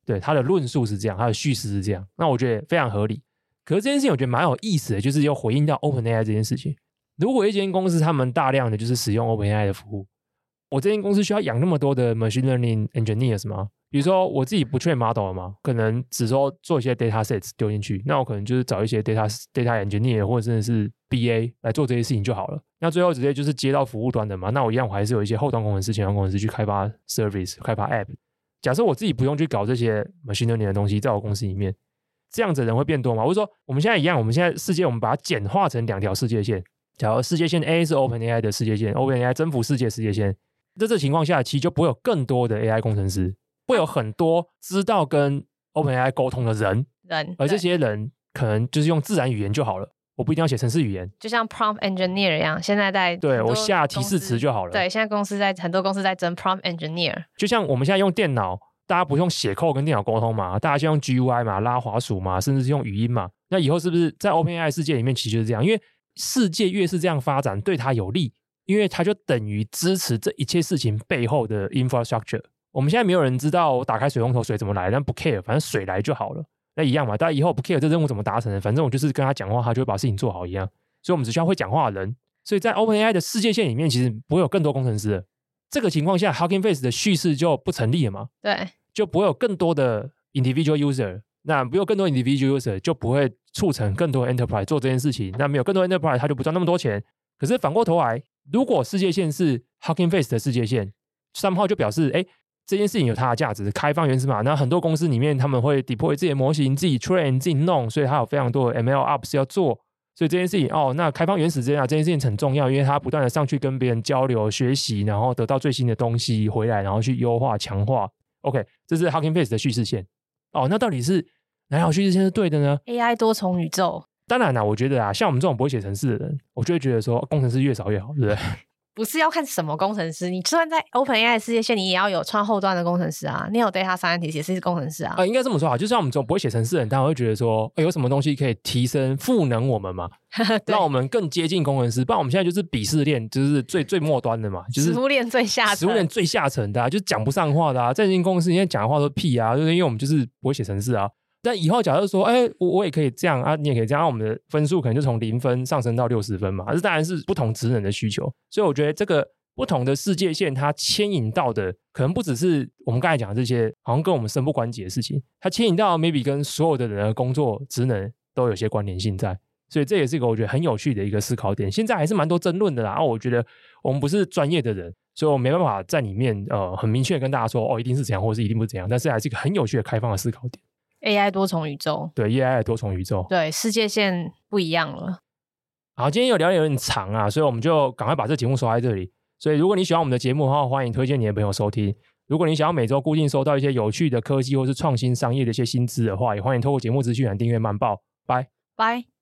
對，他的論述是這樣，他的敘事是這樣，那我覺得非常合理。可是這件事情我覺得蠻有意思的，就是又回應到 OpenAI 這件事情。如果一間公司他們大量的就是使用 OpenAI 的服務，我這間公司需要養那麼多的 machine learning engineers 嗎？比如說我自己不 train model 了嘛，可能只說做一些 data sets 丟進去，那我可能就是找一些 data data engineer 或者真的是 B A 來做這些事情就好了。那最後直接就是接到服務端的嘛，那我一樣我還是有一些後端工程師、前端工程師去開發 service、開發 app。假設我自己不用去搞這些 machine learning 的東西，在我公司裡面，這樣子的人會變多嗎？或者說我們現在一樣，我們現在世界我們把它簡化成兩條世界線。假如世界線 A 是 OpenAI 的世界線 ，OpenAI 征服世界世界線，在這情況下，其實就不會有更多的 A I 工程師，會有很多知道跟 OpenAI 溝通的人， 人， 而這些人可能就是用自然語言就好了，我不一定要寫程式語言， 就像 prompt engineer 一樣，現在在對我下提示詞就好了。 對，現在公司在很多公司在爭 prompt engineer， 就像我們現在用電腦，大家不用寫 code 跟電腦溝通嘛，大家先用 G U I 嘛，拉滑鼠嘛，甚至是用語音嘛。那以後是不是在 OpenAI 世界裡面其實就是這樣？因為世界越是這樣發展，對它有利，因為它就等於支持這一切事情背後的 infrastructure。我們現在沒有人知道我打開水龍頭水怎麼來，但不 care，反正水來就好了。那一樣嘛，大家以後不 care 這任務怎麼達成的，反正我就是跟他講話，他就會把事情做好一樣。所以我們只需要會講話的人。所以在 OpenAI 的世界線裡面，其實不會有更多工程師的。這個情況下 Hugging Face 的敘事就不成立了嘛？ 對， 就不會有更多的 individual user。那沒有更多 individual user 就不會促成更多 enterprise 做這件事情，那沒有更多 enterprise 他就不賺那麼多錢。可是反過頭來，如果世界線是 Hugging Face 的世界線，somehow就表示哎，這件事情有它的價值，開放原始碼。那很多公司裡面他們會 deploy 自己的模型，自己 train 自己弄，所以它有非常多的 M L ops 要做。所以這件事情哦，那開放原始這樣這件事情很重要，因為它不斷的上去跟別人交流學習，然後得到最新的東西回來，然後去優化強化。OK， 這是 Hugging Face 的敘事線。哦，那到底是哪條敘事線是對的呢 ？A I 多重宇宙。 當然啦，我覺得啊，像我們這種不會寫程式的人，我就會覺得說，工程師越少越好，對不對？ 不是要看什麼工程師，你就算在 OpenAI 世界線，你也要有穿後端的工程師啊，你有 data scientist 也是工程師啊。 呃，應該這麼說啊，就像我們這種不會寫程式的人，當然會覺得說，欸，有什麼東西可以提升賦能我們嘛，讓我們更接近工程師。不然我們現在就是鄙視鏈，就是最最末端的嘛，就是食物鏈最下層， 食物鏈最下層的，啊，就是講不上話的啊。在這間公司，現在講的話都屁啊，就是因為我們就是不會寫程式啊。但以後假如說，哎，欸，我我也可以這樣啊，你也可以這樣，啊，我們的分數可能就從零分上升到六十分嘛。這當然是不同職能的需求，所以我覺得這個不同的世界線，它牽引到的可能不只是我們剛才講的這些，好像跟我們身不關己的事情，它牽引到 maybe 跟所有的人的工作職能都有些關聯性在，所以這也是一個我覺得很有趣的一個思考點。現在還是蠻多爭論的啦，然後我覺得我們不是專業的人，所以我沒辦法在裡面呃很明確跟大家說哦一定是怎樣，或者是一定不是怎樣，但是還是一個很有趣的開放的思考點。 A I 多重宇宙， 對 A I 的多重宇宙， 對世界線不一樣了。 好，今天有聊得有點長啊，所以我們就趕快把這節目收在這裡。所以如果你喜歡我們的節目的話，歡迎推薦你的朋友收聽。如果你想要每周固定收到一些有趣的科技或是創新商業的一些新知的話，也歡迎透過節目資訊欄訂閱慢報。拜拜。